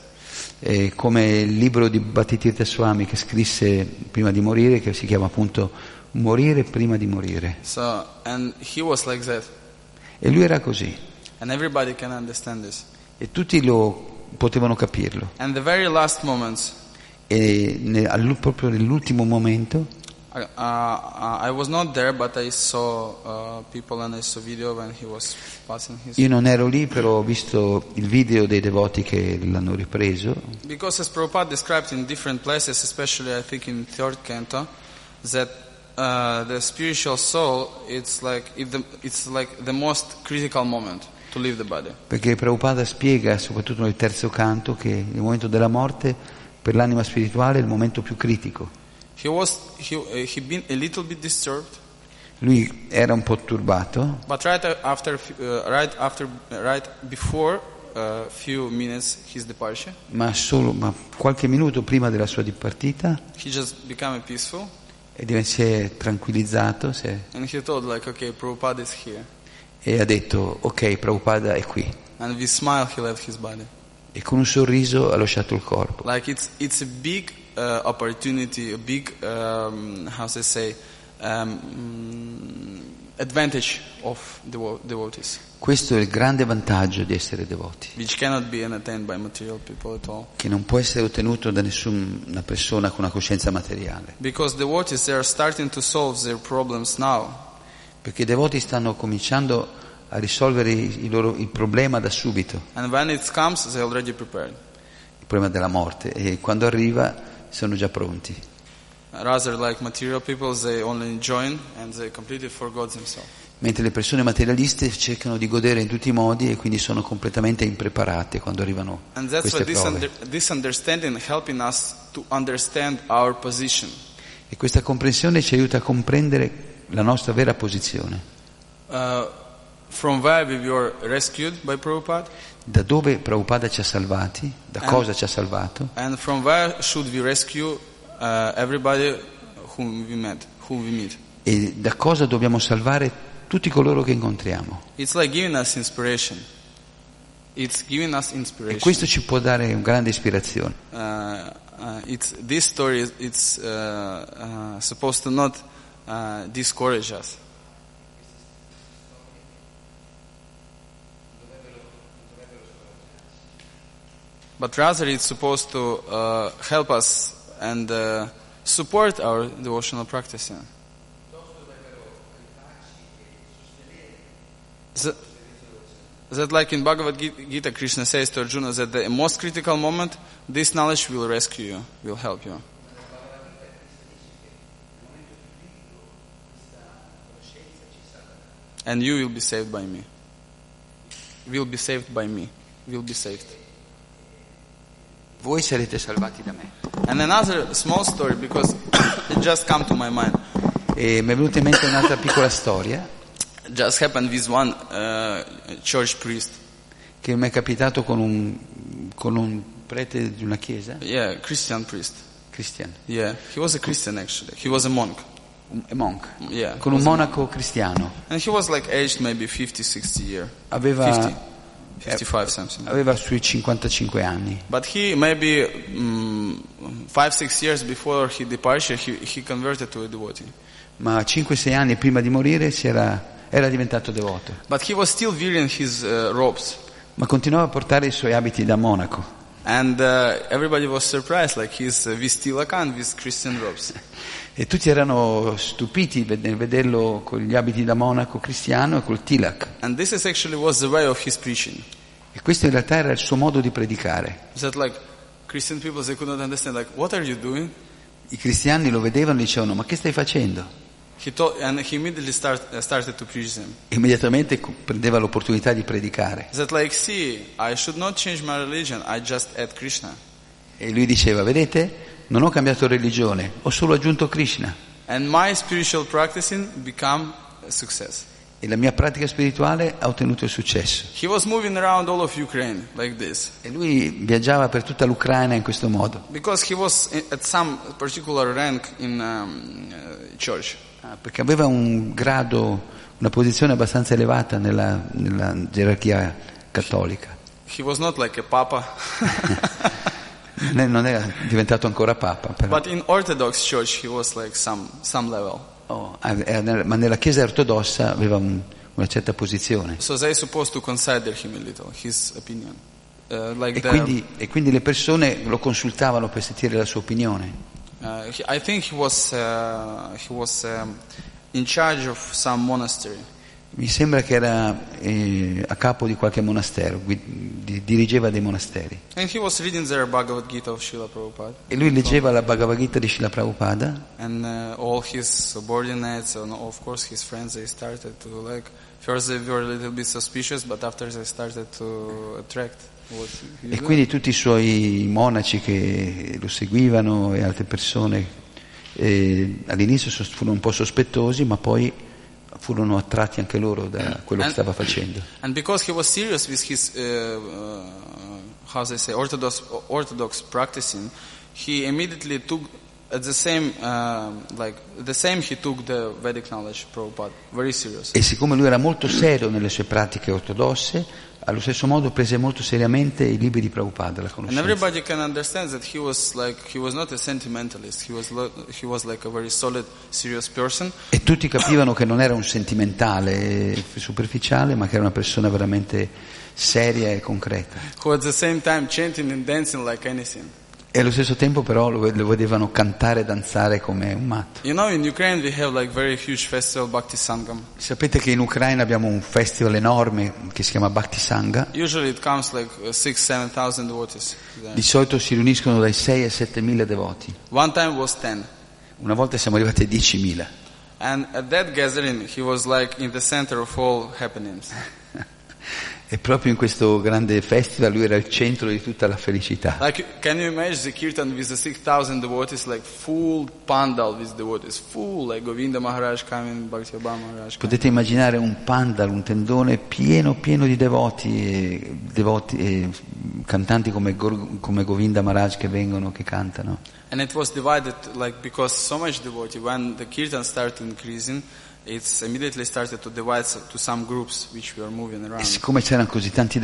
B: E come il libro di Bhattitirtha Swami che scrisse prima di morire, che si chiama appunto Morire prima di morire.
A: So, and he was like that,
B: E lui era così,
A: and everybody can understand this.
B: e tutti lo potevano capirlo.
A: And the very last moments,
B: E ne- allu- proprio nell'ultimo momento,
A: I, uh, uh, I was not there, but I saw uh, people and I saw video when he was passing his.
B: io non ero lì, però ho visto il video dei devoti che l'hanno ripreso,
A: Because as Prabhupada described in different places, especially I think in third canto, that uh, the spiritual soul, it's like if the, it's like the most critical moment to leave the body.
B: perché Prabhupada spiega, soprattutto nel terzo canto, che il momento della morte per l'anima spirituale è il momento più critico.
A: He was he uh, he been a little bit disturbed,
B: Lui era un po' turbato,
A: but right after uh, right after right before a uh, few minutes his departure,
B: ma solo ma qualche minuto prima della sua dipartita,
A: he just became peaceful,
B: e div- si è tranquillizzato si è-
A: and he told like, okay, Prabhupada is here,
B: e ha detto ok, Prabhupada è qui,
A: and with smile he left his body.
B: e con un sorriso ha lasciato il corpo.
A: Like it's it's a big uh, opportunity, a big, um, how to say, um, advantage of devo- devotees.
B: Questo è il grande vantaggio di essere devoti,
A: Which cannot be attained by material people at all.
B: che non può essere ottenuto da nessuna persona con una coscienza materiale.
A: Because devotees, they are starting to solve their problems now.
B: Perché i devoti stanno cominciando a risolvere i loro, il problema da subito,
A: And when it comes, they're already prepared.
B: il problema della morte, e quando arriva sono già pronti.
A: Rather like material people, they only join and they completely forgot themselves.
B: Mentre le persone materialiste cercano di godere in tutti i modi e quindi sono completamente impreparate quando arrivano
A: And that's
B: queste
A: why this,
B: prove.
A: under, this understanding helping us to understand our position.
B: E questa comprensione ci aiuta a comprendere la nostra vera posizione.
A: Uh, from where we were rescued by Prabhupada,
B: Da dove Prabhupada ci ha salvati, da
A: And-
B: cosa ci ha salvato,
A: and from where should we rescue uh, everybody whom we met, who we meet.
B: e da cosa dobbiamo salvare tutti coloro che incontriamo.
A: It's like giving us inspiration. It's giving us
B: E
A: inspiration.
B: questo ci può dare una grande ispirazione.
A: Uh, uh, it's, this story is it's, uh, uh, supposed to not uh, discourage us. But rather it's supposed to uh, help us and uh, support our devotional practicing. That, that like in Bhagavad Gita, Krishna says to Arjuna that the most critical moment, this knowledge will rescue you, will help you. And you will be saved by me. Will be saved by me. Will be saved.
B: Voi sarete salvati da me.
A: And another small story, because it just come to my mind.
B: E mi è venuta in mente un'altra piccola storia
A: It just happened with one uh, church priest.
B: che mi è capitato con un, con un prete di una chiesa,
A: Yeah, Christian priest.
B: cristiano,
A: Yeah, he was a Christian actually. He was a monk.
B: un a monk,
A: Yeah.
B: con un monaco cristiano.
A: And he was like aged maybe fifty, sixty year.
B: Aveva,
A: fifty, fifty-five something.
B: aveva sui cinquantacinque anni.
A: But he maybe um, five, six years before his departure, he, he converted to a devotee.
B: Ma cinque sei anni prima di morire si era, era diventato devoto,
A: But he was still wearing his uh, robes.
B: ma continuava a portare i suoi abiti da monaco.
A: And uh, everybody was surprised, like he's uh, with tilaka and with Christian robes.
B: E tutti erano stupiti nel vederlo con gli abiti da monaco cristiano e col tilak.
A: And this is actually was the way of his preaching.
B: E questo in realtà era il suo modo di predicare.
A: That like Christian people, they could not understand, like, what are you doing?
B: I cristiani lo vedevano e dicevano: ma che stai facendo?
A: He told, and he immediately start, uh, started to preach them.
B: Immediatamente prendeva l'opportunità di predicare.
A: That like, see, I should not change my religion, I just add Krishna.
B: E lui diceva: vedete, non ho cambiato religione, ho solo aggiunto Krishna.
A: And my spiritual practicing become a success.
B: E la mia pratica spirituale ha ottenuto il successo.
A: He was moving around all of Ukraine like this.
B: E lui viaggiava per tutta l'Ucraina in questo modo.
A: Because he was at some particular rank in um, uh, church.
B: Ah, perché aveva un grado, una posizione abbastanza elevata nella, nella gerarchia cattolica.
A: He was not like a papa.
B: Non è- non era diventato ancora papa, però.
A: But in Orthodox church he was like some, some level.
B: Oh, ah, era nella- ma nella Chiesa ortodossa aveva un- una certa posizione.
A: So they supposed to consider him a little, his opinion. Uh, like
B: E
A: the,
B: quindi, e quindi le persone lo consultavano per sentire la sua opinione.
A: uh, he, I think he was, uh, he was um, in charge of some monastery.
B: Mi sembra che era eh, a capo di qualche monastero, gui- di- dirigeva dei monasteri.
A: And he was reading their Bhagavad Gita of Srila Prabhupada.
B: E lui leggeva la Bhagavad Gita di Srila Prabhupada
A: And uh, all his subordinates and of course his friends, they started to like, first they were a little bit suspicious, but after they started to attract what he
B: e
A: was
B: quindi tutti i suoi monaci che lo seguivano e altre persone eh, all'inizio sos- furono un po' sospettosi, ma poi furono attratti anche loro da quello che
A: And-
B: stava facendo.
A: And because he was serious with his, uh, uh, how they say, orthodox, orthodox practicing, he immediately took at the same, um, like the same, he took the Vedic knowledge, Prabhupada, very serious.
B: E siccome lui era molto serio nelle sue pratiche ortodosse, allo stesso modo prese molto seriamente i libri di Prabhupada, la
A: And
B: conoscenza.
A: everybody can understand that he was like he was not a sentimentalist. He was lo- he was like a very solid, serious person.
B: E tutti capivano che non era un sentimentale superficiale, ma che era una persona veramente seria e concreta.
A: Who at the same time chanting and dancing like anything.
B: E allo stesso tempo però lo, lo vedevano cantare e danzare come un matto.
A: You know, in Ukraine we have like very huge festival, Bhakti Sangam.
B: Sapete che in Ucraina abbiamo un festival enorme che si chiama Bhakti Sangha.
A: Usually it comes like uh, six, seven thousand devotees.
B: Di solito si riuniscono dai sei ai sette mila devoti.
A: One time was ten.
B: Una volta siamo arrivati ai diecimila.
A: And at that gathering, he was like in the center of all happenings.
B: E proprio in questo grande festival lui era il centro di tutta la felicità.
A: Like, can you imagine the kirtan with the six thousand devotees, like full pandal with devotees, full, like Govinda Maharaj coming, Bhakti Abba Maharaj coming.
B: Potete immaginare un pandal, un tendone pieno pieno di devoti, e, devoti e cantanti come, Gor- come Govinda Maharaj che vengono, che cantano.
A: And it was divided, like, because so much devotee, when the kirtan started increasing, it's immediately started to divide to some groups which were moving
B: E
A: around.
B: siccome c'erano così tanti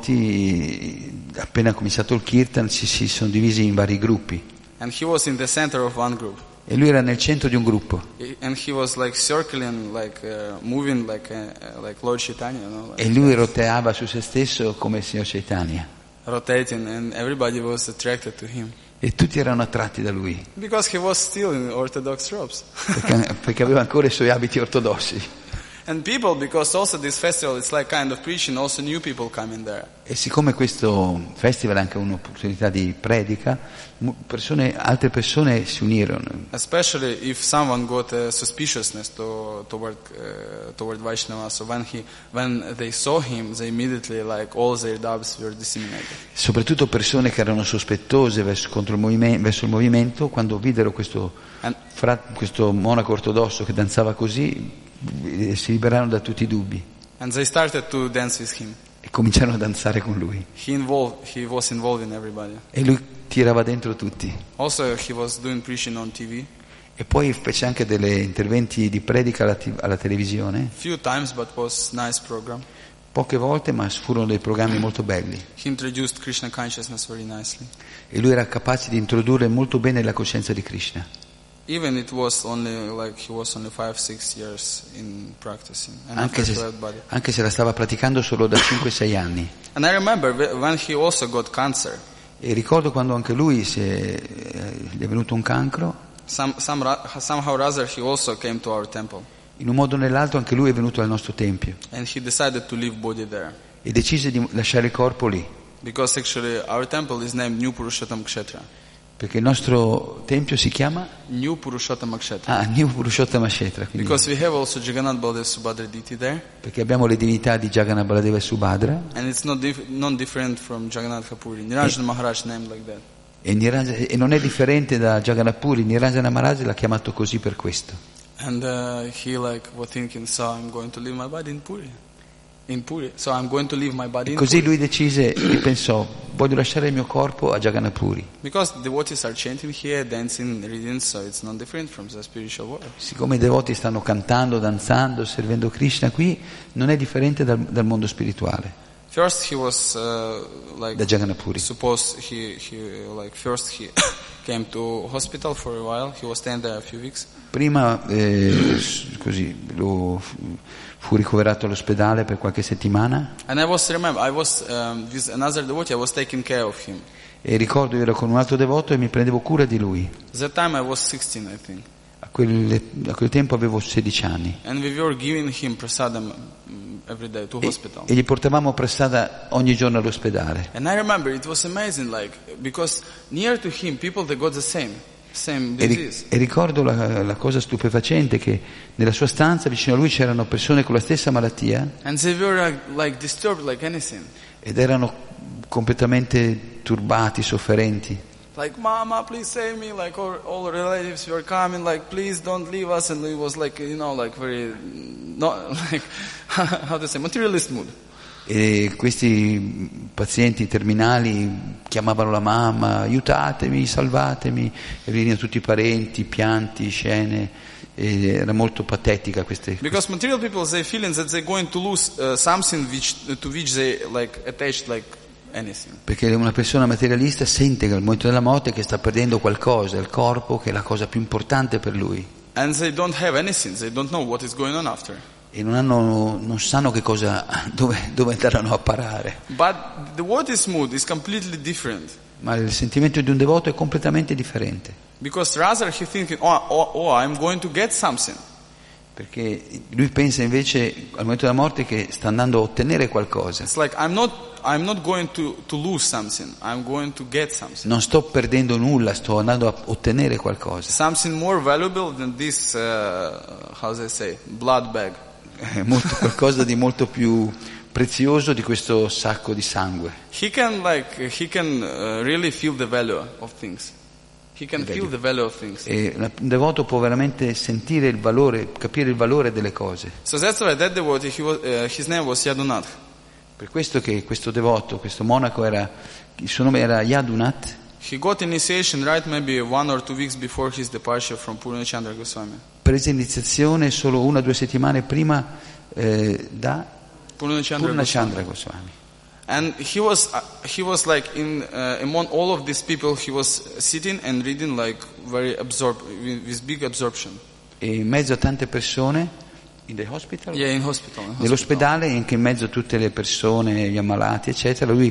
B: devoti, appena cominciato il kirtan ci si sono divisi in vari gruppi.
A: And he was in the center of one group.
B: E lui era nel centro di un gruppo.
A: And he was like circling, like uh, moving like uh, like Lord Chaitanya, you know, like
B: E lui roteava su se stesso come il signor Chaitanya.
A: rotating, and everybody was attracted to him.
B: E tutti erano attratti da lui,
A: Because he was still in Orthodox robes.
B: perché, perché aveva ancora i suoi abiti ortodossi.
A: And people, because also this festival, it's like kind of preaching, also new people come in there.
B: E siccome questo festival è anche un'opportunità di predica, mu- persone, altre persone si unirono.
A: Especially if someone got a suspiciousness to, toward uh, toward Vaishnava. So when he when they saw him, they immediately like all their doubts were disseminated.
B: Soprattutto persone che erano sospettose verso, contro il movime- verso il movimento, quando videro questo,
A: And
B: fra- questo monaco ortodosso che danzava così, eh, si liberarono da tutti i dubbi
A: and they started to dance with him.
B: e cominciarono a danzare con lui.
A: He involved he was involving everybody.
B: E lui tirava dentro tutti.
A: Also, he was doing preaching on T V.
B: E poi fece anche degli interventi di predica alla, t- alla televisione,
A: Few times, but was nice program.
B: poche volte, ma furono dei programmi molto belli.
A: He introduced Krishna consciousness very nicely.
B: E lui era capace di introdurre molto bene la coscienza di Krishna.
A: Even it was only like he was only five, six years in practicing, and
B: Anche
A: after
B: se,
A: that body.
B: anche se la stava praticando solo da cinque sei anni.
A: And I remember wh- when he also got cancer.
B: E ricordo quando anche lui si è, eh, gli è venuto un cancro,
A: Some, some, ra- somehow or other, he also came to our temple,
B: in un modo o nell'altro anche lui è venuto al nostro tempio
A: and he decided to leave body there,
B: e decise di lasciare il corpo lì,
A: because actually our temple is named New Purushottam Kshetra.
B: perché il nostro tempio si chiama
A: New Purushottam Kshetra.
B: ah, New Purushottama Kshetra, quindi,
A: Because we have also Jagannath Baladev Subhadra Diti there,
B: perché abbiamo le divinità di Jagannath Baladeva e Subhadra,
A: and it's not dif- non different from Jagannath Kapuri. Nirajana Maharaj named like that.
B: e, Niraj- e non è differente da Jagannath Puri. Nirajana Maharaj l'ha chiamato così per questo.
A: And uh, he like was thinking, so I'm going to leave my body in Puri, in Puri. So I'm going to leave my body in
B: Così
A: Puri.
B: lui decise e pensò: voglio lasciare il mio corpo a Jagannath Puri.
A: Because devotees are chanting here, dancing, reading, so it's not different from the spiritual world.
B: Siccome i devoti stanno cantando, danzando, servendo Krishna qui, non è differente dal, dal mondo spirituale,
A: First he was uh, like
B: da Jagannath Puri.
A: suppose he he like first he came to hospital for a while. He was staying there a few weeks.
B: Prima eh, s- così lo fu, fu ricoverato all'ospedale per qualche settimana
A: And I was remember I was um, with another devotee. I was taking care of him.
B: e ricordo io ero con un altro devoto e mi prendevo cura di lui.
A: That time I was sixteen, I think,
B: A quel, a quel tempo avevo sedici anni
A: and we were giving him prasadam mm, every day to
B: e,
A: hospital.
B: e gli portavamo pressata ogni giorno all'ospedale.
A: And I remember it was amazing, like because near to him, people they got the same same
B: E, ri-
A: disease.
B: e ricordo la, la cosa stupefacente che nella sua stanza vicino a lui c'erano persone con la stessa malattia
A: And they were like, like disturbed like anything.
B: ed erano completamente turbati, sofferenti.
A: Like, Mama, please save me. Like all, all relatives were coming. Like, please don't leave us. And it was like, you know, like very, not like how to say, materialist mood.
B: E questi pazienti terminali chiamavano la mamma, aiutatemi, salvatemi, e venivano tutti i parenti, pianti, scene, e era molto patetica queste.
A: Because material people, they feeling that they're going to lose uh, something which, to which they like attached like anything.
B: Perché una persona materialista sente che al momento della morte che sta perdendo qualcosa, il corpo, che è la cosa più importante per lui.
A: And they don't have anything, they don't know what is going on after.
B: E non, hanno, non sanno che cosa, dove, dove andranno a parare.
A: But the devotee's mood is completely different.
B: Ma il sentimento di un devoto è completamente differente.
A: Because rather he thinking, oh, oh, oh, I'm going to get something.
B: Perché lui pensa invece al momento della morte che sta andando a ottenere qualcosa.
A: It's like I'm not, I'm not going to, to lose something, I'm going to get something.
B: Non sto perdendo nulla, sto andando a ottenere qualcosa.
A: Something more valuable than this, uh, how they say, blood bag.
B: È molto, qualcosa di molto più prezioso di questo sacco di sangue.
A: He can like he can uh, really feel the value of things. He can feel the value of things.
B: E un devoto può veramente sentire il valore, capire il valore delle cose.
A: So that's why that devotee, he was, uh, his name was Yadunath.
B: Per questo che questo devoto, questo monaco era, il suo nome era Yadunath.
A: He got initiation right maybe one or two weeks before his departure from Purnachandra Goswami.
B: Prese iniziazione solo una o due settimane prima eh, da
A: Purnachandra
B: Purnachandra
A: Goswami.
B: Goswami.
A: And he was uh, he was like in uh, among all of these people, he was sitting and reading like very absorbed with, with big absorption.
B: E in mezzo a tante persone in the hospital?
A: Yeah, in hospital. In hospital.
B: Nell'ospedale, anche in mezzo a tutte le persone, gli ammalati, eccetera, lui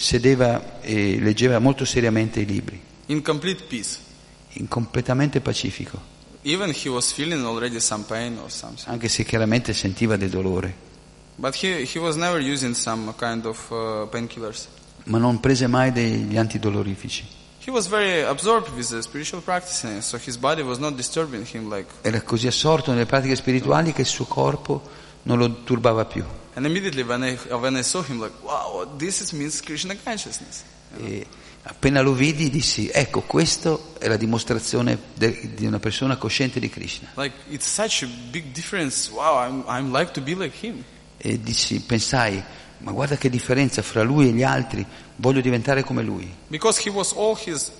B: sedeva e leggeva molto seriamente i libri.
A: In complete peace.
B: In completamente pacifico.
A: Even he was feeling already some pain or something.
B: Anche se chiaramente sentiva del dolore.
A: But he he was never using some kind of uh, painkillers.
B: Ma non prese mai degli antidolorifici.
A: He was very absorbed with the spiritual practices, so his body was not disturbing him like.
B: Era così assorto nelle pratiche spirituali che il suo corpo non lo turbava più.
A: And immediately when I when I saw him, like, wow, this is means Krishna consciousness. You know?
B: E appena lo vidi dissi, ecco, questo è la dimostrazione de, di una persona cosciente di Krishna.
A: Like it's such a big difference. Wow, I'm I'm like to be like him.
B: E dissi, pensai, ma guarda che differenza fra lui e gli altri, voglio diventare come lui.
A: Because he was all his.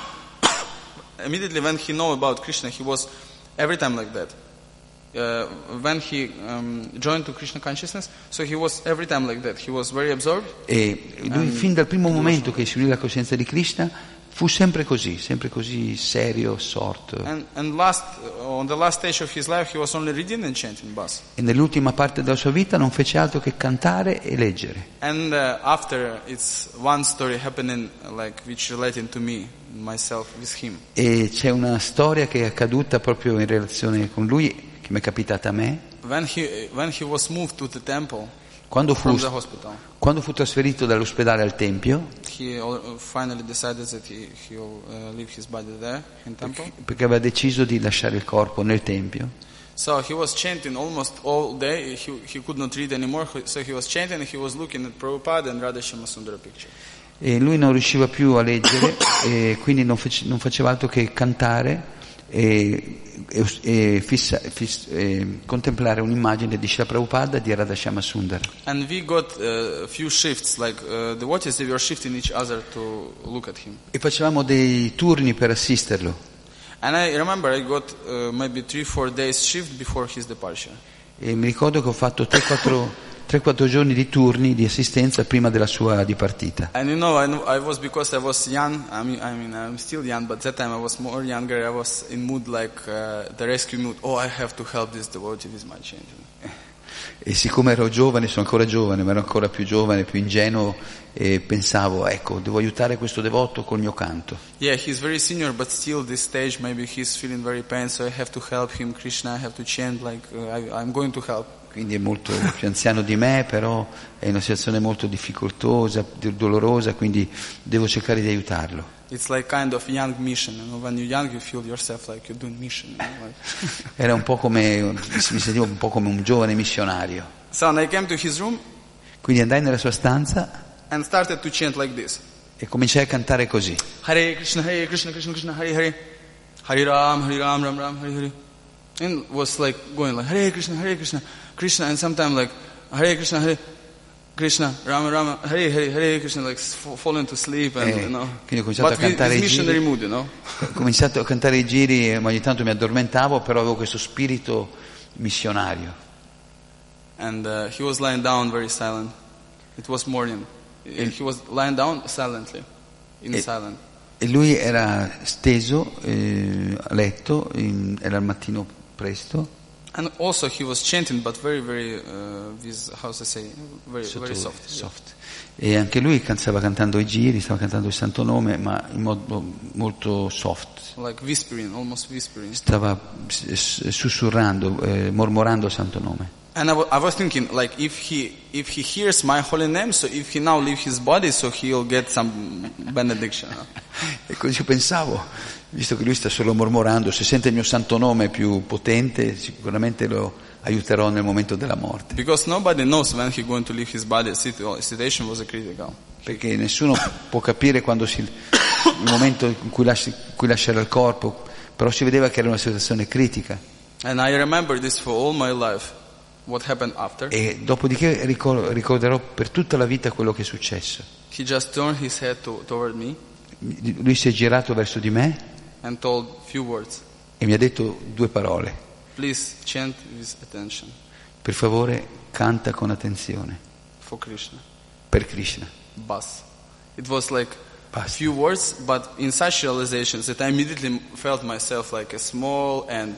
A: Immediately when he know about Krishna, he was every time like that. Uh, when he um, joined to Krishna consciousness, so he was every time like that. He was very absorbed.
B: E lui fin dal primo momento che si unì alla coscienza di Krishna fu sempre così, sempre così serio, assorto.
A: And, and last, on the last stage of his life, he was only reading and chanting bas.
B: E nell'ultima parte della sua vita non fece altro che cantare e leggere.
A: And uh, after, it's one story happening, like which relating to me, myself, with him.
B: E c'è una storia che è accaduta proprio in relazione con lui, che mi è capitata a me.
A: When he when he was moved to the temple.
B: Quando fu, quando fu trasferito dall'ospedale al tempio,
A: he finally decided that he he'll uh, leave his body there in temple.
B: Perché, perché aveva deciso di lasciare il corpo nel tempio.
A: So he was chanting almost all day. He he could not read anymore. So he was chanting and he was looking at Prabhupada and Radha Shyama picture.
B: E lui non riusciva più a leggere e quindi non, face, non faceva altro che cantare e, e, e, fissa, fiss, e contemplare un'immagine di Srila Prabhupada di Radha Shyama Sundara.
A: And we got a uh, few shifts, like uh, the watches, they were shifting each other to look at him.
B: E facevamo dei turni per assisterlo.
A: And I remember I got uh, maybe three, four days shift before his departure.
B: E mi ricordo che ho fatto tre quattro giorni di turni di assistenza prima della sua dipartita.
A: And you know, I, know, I was because I was young. I mean, I mean, I'm still young, but that time I was more younger. I was in mood like uh, the rescue mood. Oh, I have to help this devotee with my change.
B: E siccome ero giovane, sono ancora giovane, ma ero ancora più giovane, più ingenuo, e pensavo, ecco, devo aiutare questo devoto col mio canto.
A: Yeah, he's very senior, but still this stage maybe he's feeling very pain, so I have to help him. Krishna, I have to chant like uh, I, I'm going to help.
B: Quindi è molto più anziano di me, però è in una situazione molto difficoltosa, dolorosa, quindi devo cercare di aiutarlo.
A: It's like kind of young mission, you know? When you're young you feel yourself like you're doing mission. You know? Like
B: Era un po' come, mi sentivo un po' come un giovane missionario.
A: So I came to his room.
B: Quindi andai nella sua stanza
A: and started to chant like this.
B: E cominciai a cantare così.
A: Hare Krishna, Hare Krishna, Krishna Krishna, Hare Hare, Hare Ram, Hare Ram, Ram Ram, Hare Hare. And was like going like Hare Krishna, Hare Krishna, Krishna, and sometimes like Hare Krishna, Hare. Krishna, Rama, Rama, Hare, Hare, Hare Krishna, like f- falling to sleep and,
B: Eh,
A: you know.
B: quindi ho cominciato
A: But
B: a cantare
A: with
B: i
A: this missionary
B: giri.
A: mood, you know.
B: Ho cominciato a cantare i giri e ogni tanto mi addormentavo, però avevo questo spirito missionario.
A: And uh, he was lying down very silent. It was morning. He was lying down silently, in
B: E-
A: silence.
B: E lui era steso eh, a letto, in- era il mattino presto,
A: And also he was chanting, but very, very, uh, with, how to say, very,
B: sotto-
A: very soft.
B: soft. E anche lui can- stava cantando i giri, stava cantando il santo nome, ma in modo molto soft.
A: Like whispering, almost whispering.
B: Stava s- s- sussurrando, eh, mormorando il santo nome.
A: And I wa- I was thinking, like, if he if he hears my holy name, so if he now leave his body, so he'll get some benediction. no?
B: E così pensavo, visto che lui sta solo mormorando, se sente il mio santo nome più potente, sicuramente lo aiuterò nel momento della morte.
A: Because nobody knows when he's going to leave his body. Situ- Situation was a critical.
B: Perché nessuno può capire quando si, il momento in cui, lasci- in cui lascerà il corpo, però si vedeva che era una situazione critica.
A: And I remember this for all my life. What happened after?
B: E dopodiché ricor- ricorderò per tutta la vita quello che è successo.
A: He just turned his head to, toward me
B: Lui si è girato verso di me
A: and told few words.
B: e mi ha detto due parole.
A: Please chant with attention
B: Per favore, canta con attenzione.
A: for Krishna.
B: Per Krishna.
A: Bas. It was like
B: Basta.
A: few words, but in such realizations that I immediately felt myself like a small ant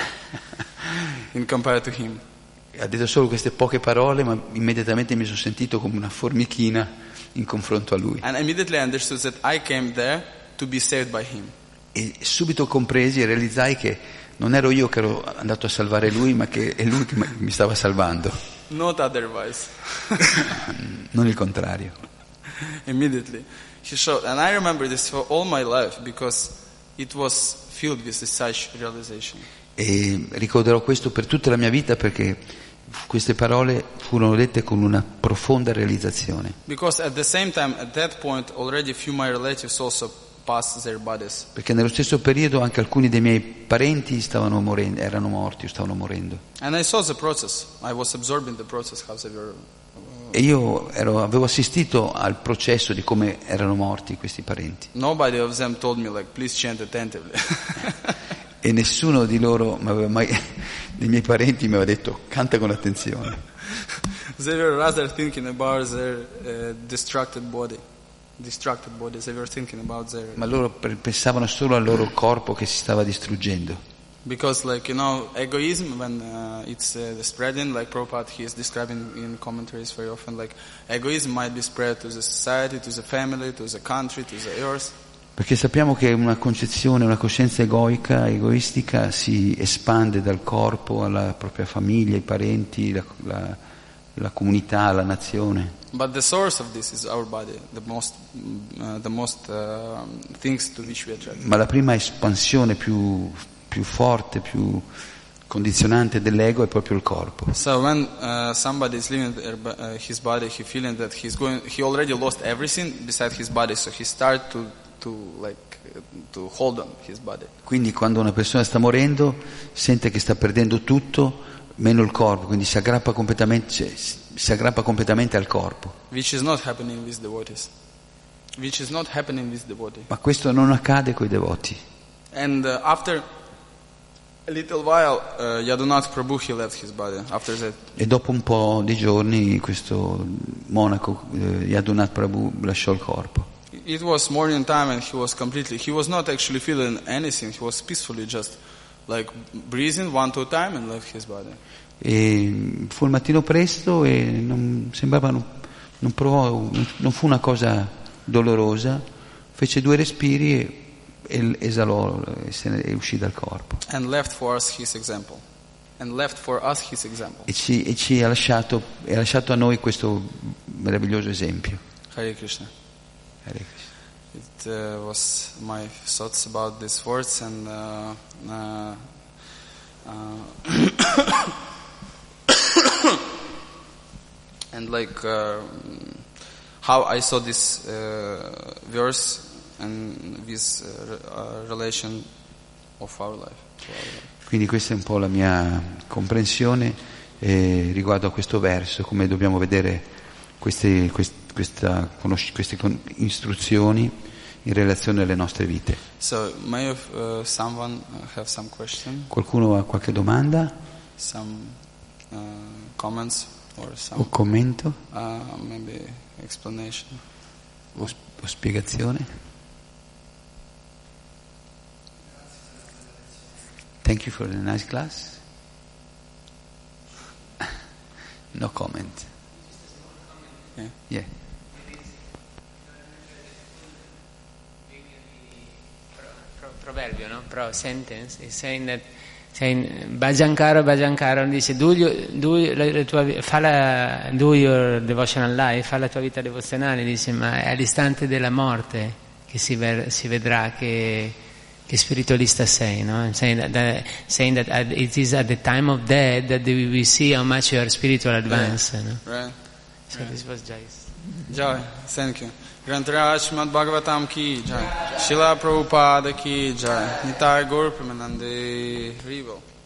A: in compared to him.
B: Ha detto solo queste poche parole, ma immediatamente mi sono sentito come una formichina in confronto a lui.
A: And immediately I understood that I came there to be saved by him.
B: E subito compresi e realizzai che non ero io che ero andato a salvare lui, ma che è lui che mi stava salvando,
A: Not otherwise.
B: non il contrario.
A: Immediately. He showed, and I remember this for all my life because it was filled with such realization.
B: E ricorderò questo per tutta la mia vita perché queste parole furono dette con una profonda realizzazione.
A: Because at the same time, at that point, already a few of my relatives also passed their bodies.
B: Perché nello stesso periodo anche alcuni dei miei parenti stavano morendo, erano morti o stavano morendo.
A: And I saw the process. I was absorbing the process, how they were.
B: E io ero, avevo assistito al processo di come erano morti questi parenti.
A: Nobody of them told me, like, please chant attentively.
B: E nessuno di loro, mi aveva mai, dei miei parenti, mi aveva detto canta con attenzione.
A: They were rather thinking about their uh, distracted body. Distracted bodies. They were thinking about their.
B: Ma loro per- pensavano solo al loro corpo che si stava distruggendo.
A: Because, like, you know, egoism, when uh, it's uh, spreading, like Prabhupada, he is describing in commentaries very often, like, egoism might be spread to the society, to the family, to the country, to the earth.
B: Perché sappiamo che una concezione, una coscienza egoica, egoistica si espande dal corpo alla propria famiglia, ai parenti, la, la, la comunità, la nazione.
A: But the source of this is our body, the most, uh, the most uh, things to which we attract.
B: Ma la prima espansione più, più forte, più condizionante dell'ego è proprio il corpo.
A: So when uh, somebody is leaving their, bo- uh, his body, he feeling that he's going, he already lost everything beside his body, so he start to to like uh, to hold on his body.
B: Quindi quando una persona sta morendo sente che sta perdendo tutto meno il corpo, quindi si aggrappa completamente, cioè, si aggrappa completamente al corpo.
A: Which is not happening with devotees. Which is not happening with devotee.
B: Ma questo non accade coi devoti.
A: And uh, after a little while, uh, Yadunath Prabhu, he left his body. After that,
B: E dopo un po' di giorni questo monaco, eh, Yadunath Prabhu, lasciò il corpo.
A: it was morning time, and he was completely. He was not actually feeling anything. He was peacefully just like breathing one two time and left his body.
B: E fu il mattino presto e non sembrava, non, non provò, non fu una cosa dolorosa, fece due respiri e, e esalò e, se ne, e uscì dal corpo.
A: And left for us his example. And left for us his example.
B: E ci, e ci ha lasciato, e ha lasciato a noi questo meraviglioso esempio.
A: Hare Krishna.
B: Hare Krishna.
A: It uh, was my thoughts about these words, and uh, uh, uh, and like uh, how I saw this uh, verse and this uh, uh, relation of our life. To our life.
B: Quindi questa è un po' la mia comprensione eh, riguardo a questo verso, come dobbiamo vedere queste, quest, questa, queste istruzioni in relazione alle nostre vite.
A: So, may have, uh, someone have some question?
B: Qualcuno ha qualche domanda?
A: Some uh, comments or some
B: o commento?
A: Uh, maybe explanation
B: o, o spiegazione? Thank you for the nice class. No comment.
A: Yeah.
B: Yeah.
C: Proverbio, no? Pro sentence is saying that saying Bhajankara Bhajankara dice do, you, do, you, la, la tua, fa la, do your devotional life, fa la tua vita devozionale, dice, ma è all'istante della morte che si, ver, si vedrà che, che spiritualista sei, no? Saying that, that, saying that at, it is at the time of death that we will see how much you are spiritual advanced. Yeah. No?
A: Right.
C: So right. This was Joyce.
A: Joy, thank you. Grantaraj Srimad Bhagavatam ki jai. Srila Prabhupada ki jai. Nitai Gaur Premanande Haribo.